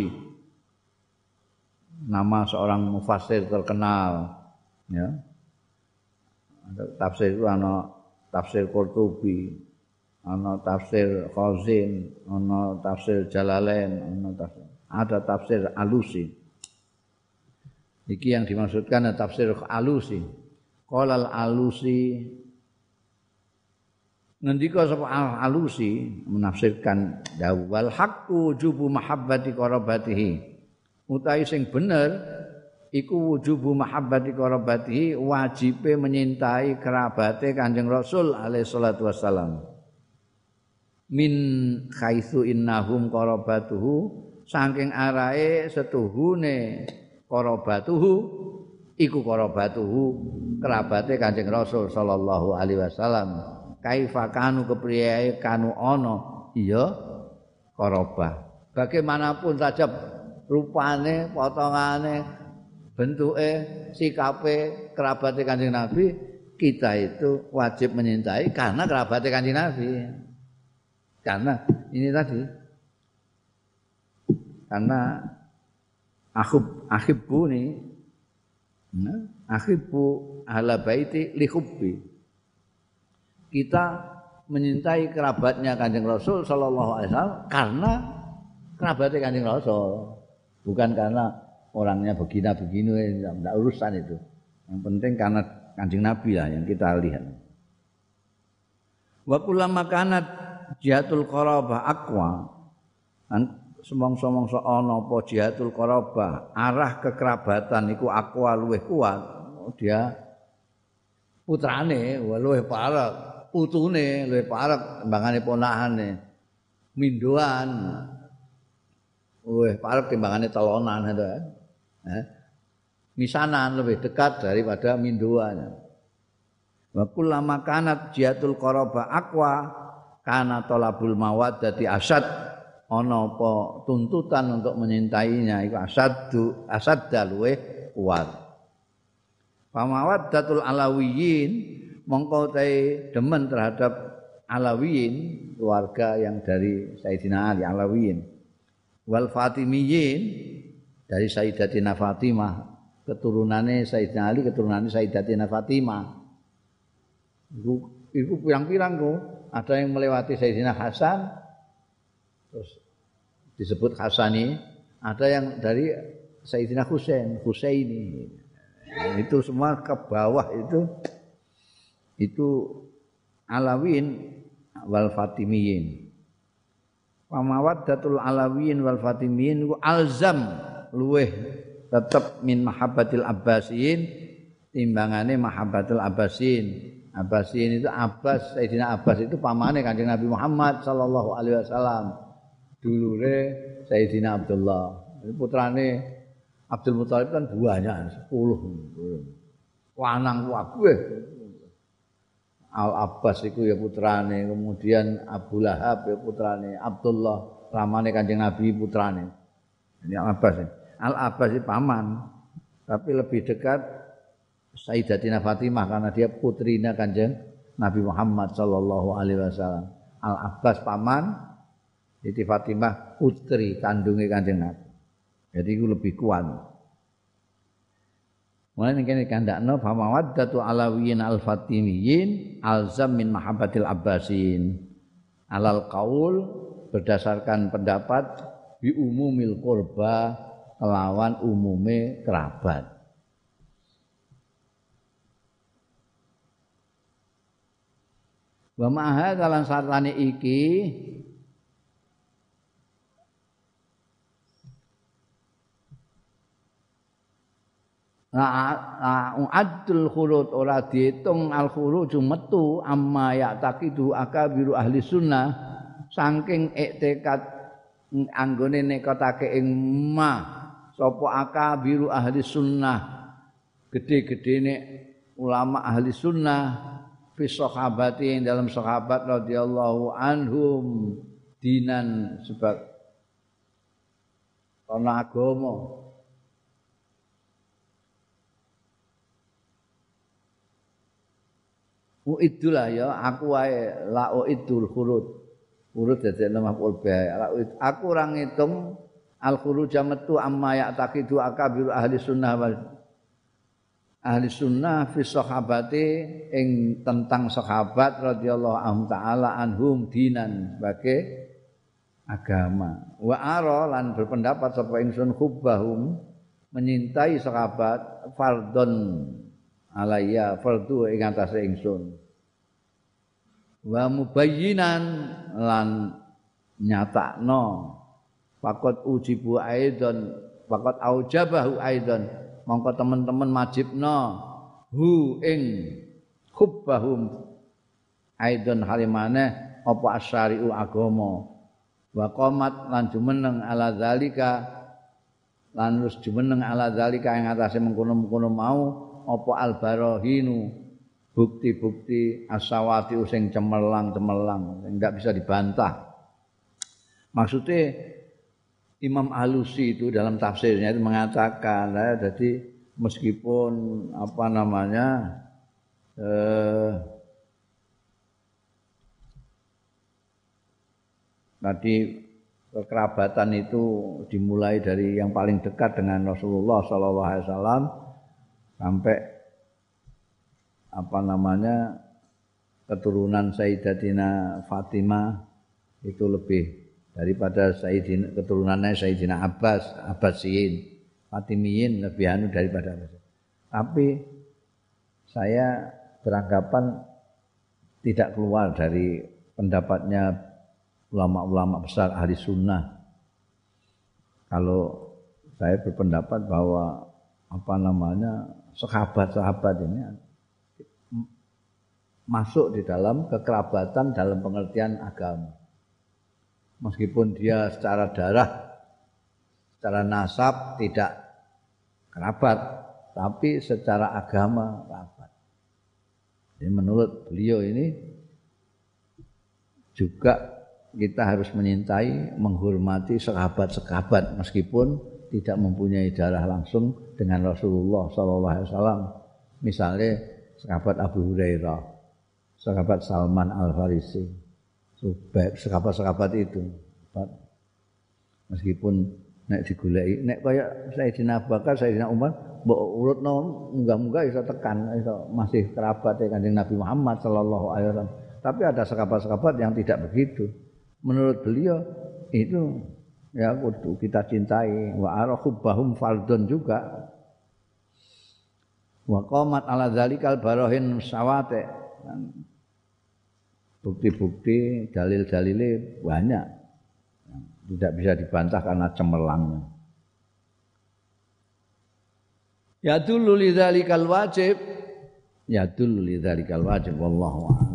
nama seorang mufassir terkenal, ya. Tafsir itu ana tafsir Qurtubi, ana tafsir Khazin, ana tafsir Jalalain, ana tafsir, ada tafsir Alusi. Iki yang dimaksudkan adalah tafsir Alusi. Qala al-Alusi, ngendika sapa al-Alusi menafsirkan dawu wal haqqu wujubu mahabbati qarabatihi. Utawi sing bener iku wujubu mahabbati qarabatihi, wajibe menyintai kerabate Kanjeng Rasul alaihi salatu wassalam. Min khaitsu innahum qarabatuhu, saking arahe setuhune qarabatuhu iku qarabatuhu kerabate Kanjeng Rasul sallallahu alaihi wasallam. Kaifa kanu kepriye kanu ana iya qarabah. Bagaimanapun saja rupane, potongane, bentuke, sikape kerabate Kanjeng Nabi, kita itu wajib menyintai karena kerabate Kanjeng Nabi. Karena ini tadi. Karena akhib akhibbu ni nah, akhibbu ahla baiti li hubbi. Kita menyintai kerabatnya Kanjeng Rasul sallallahu alaihi wasallam karena kerabatnya Kanjeng Rasul, bukan karena orangnya begina-begini, enggak urusan itu. Yang penting karena Kanjeng Nabi lah yang kita lihat. Wa kullama kanat jihatul qarabah aqwa, semong-semong ana apa jihatul qarabah, arah kekerabatan iku aqwa luwih kuat, dia putrane luwih parek, putune luwih parek timbangane ponakane, mindoan luwih parek timbangane telonan itu kan. Eh? Misanan lebih dekat daripada mindoan. Wa kullama kanat jihatul qarabah aqwa, kana talabul mawaddati asad ana apa tuntutan untuk menyintainya iku asaddu asadda luweh kuat. Pamawaddatul alawiyin mongko te demen terhadap alawiyin keluarga yang dari Sayyidina Ali alawiyin wal fatimiyin dari Sayyidatina Fatimah keturunane Sayyidina Ali keturunane Sayyidatina Fatimah iku iku pirang-pirang kok ada yang melewati Sayyidina Hasan terus disebut Hasani ada yang dari Sayyidina Husain Husaini itu semua ke bawah itu itu Alawin wal Fatimiyin. Pamawaddatul Alawin wal Fatimiyin ku alzam luweh tetep min mahabbatil Abbasiyin timbangane mahabbatul Abbasin. Abbasin itu Abbas, Sayyidina Abbas itu pamane Kanjeng Nabi Muhammad sallallahu alaihi wasallam. Dulure Sayyidina Abdullah. Putrane Abdul Muthalib kan banyak sepuluh. Lanang kabeh. Al Abbas iku ya putrane, kemudian Abu Lahab ya putrane, Abdullah ramane Kanjeng Nabi putrane. Ini Al Abbas. Al Abbas itu paman, tapi lebih dekat Sayyidatina Fatimah karena dia putrina Kanjeng Nabi Muhammad sallallahu alaihi wasallam. Al Abbas paman, Siti Fatimah putri kandunge Kanjeng Nabi. Jadi itu lebih kuat. Mulai kene kandakno fa mawaddatu alawiyin al fatimiyin alzam min mahabbatil abbasin. Alal qaul berdasarkan pendapat bi umumil qurba kelawan umume kerabat. Wa ma'ha kalan sartane iki la u'addul khurud ora diitung al khuruju metu amma ya'taqidu akabiru ahli sunnah saking iktikad anggone nekotake ing ma sapa akabiru ahli sunnah gede-gedene ulama ahli sunnah fi sahabati dalam sahabat radhiyallahu anhum dinan sebab ana agama. Uidullah ya aku wae la uidul khurud. Khurud dadi maf'ul bih. Aku ora ngitung al khuruj metu amma ya taqidu akabiru ahli sunnah wal ahli sunnah fi sahabati ing tentang sahabat radhiyallahu anhum taala anhum dinan sebagai agama. Wa ara lan berpendapat sapa ingsun hubbahum menyintai sahabat fardhon alayya fardu ing atase ingsun wa mubayyinan lan nyatakno faqat ujibu aidan faqat aujabahu aidan mongko teman-teman majibno hu ing hubbahum aidan halimane apa asyari'u agama wa qamat lan jumeneng ala zalika lan wis jumeneng ala zalika ing atase mengkono-mengkono mau apa al-barahinu bukti-bukti as-sawati sing cemerlang-cemerlang enggak bisa dibantah. Maksudnya Imam Alusi itu dalam tafsirnya itu mengatakan ya, jadi meskipun apa namanya eh, tadi kekerabatan itu dimulai dari yang paling dekat dengan Rasulullah sallallahu alaihi wasallam sampai apa namanya keturunan Sayyidatina Fatimah itu lebih daripada Sayyidina keturunannya Sayyidina Abbas, Abbasiyin, Fatimiyin lebih anu daripada Abbas. Tapi saya beranggapan tidak keluar dari pendapatnya ulama-ulama besar ahli sunnah. Kalau saya berpendapat bahwa apa namanya sahabat-sahabat ini masuk di dalam kekerabatan dalam pengertian agama. Meskipun dia secara darah, secara nasab tidak kerabat, tapi secara agama kerabat. Jadi menurut beliau ini juga kita harus menyintai, menghormati sahabat-sahabat meskipun tidak mempunyai darah langsung dengan Rasulullah sallallahu alaihi wasallam. Misalnya sahabat Abu Hurairah, sahabat Salman Al-Farisi, sahabat-sahabat itu. Meskipun nek digoleki, nek kaya Sayyidina Abu Bakar, Sayyidina Umar, mbok urutno munggah-munggah iso tekan, iso masih kerabat Kanjeng Nabi Muhammad sallallahu alaihi wasallam. Tapi ada sahabat-sahabat yang tidak begitu. Menurut beliau itu ya kudu kita cintai. Wa arahubbahum fardun juga. Wa qamat ala dzalikal barahin sawate. Bukti-bukti, dalil-dalile banyak. Tidak bisa dibantah karena cemerlangnya. Ya dulu lidzalikal wajib. Ya dulu lidzalikal wajib wallahu a'lam.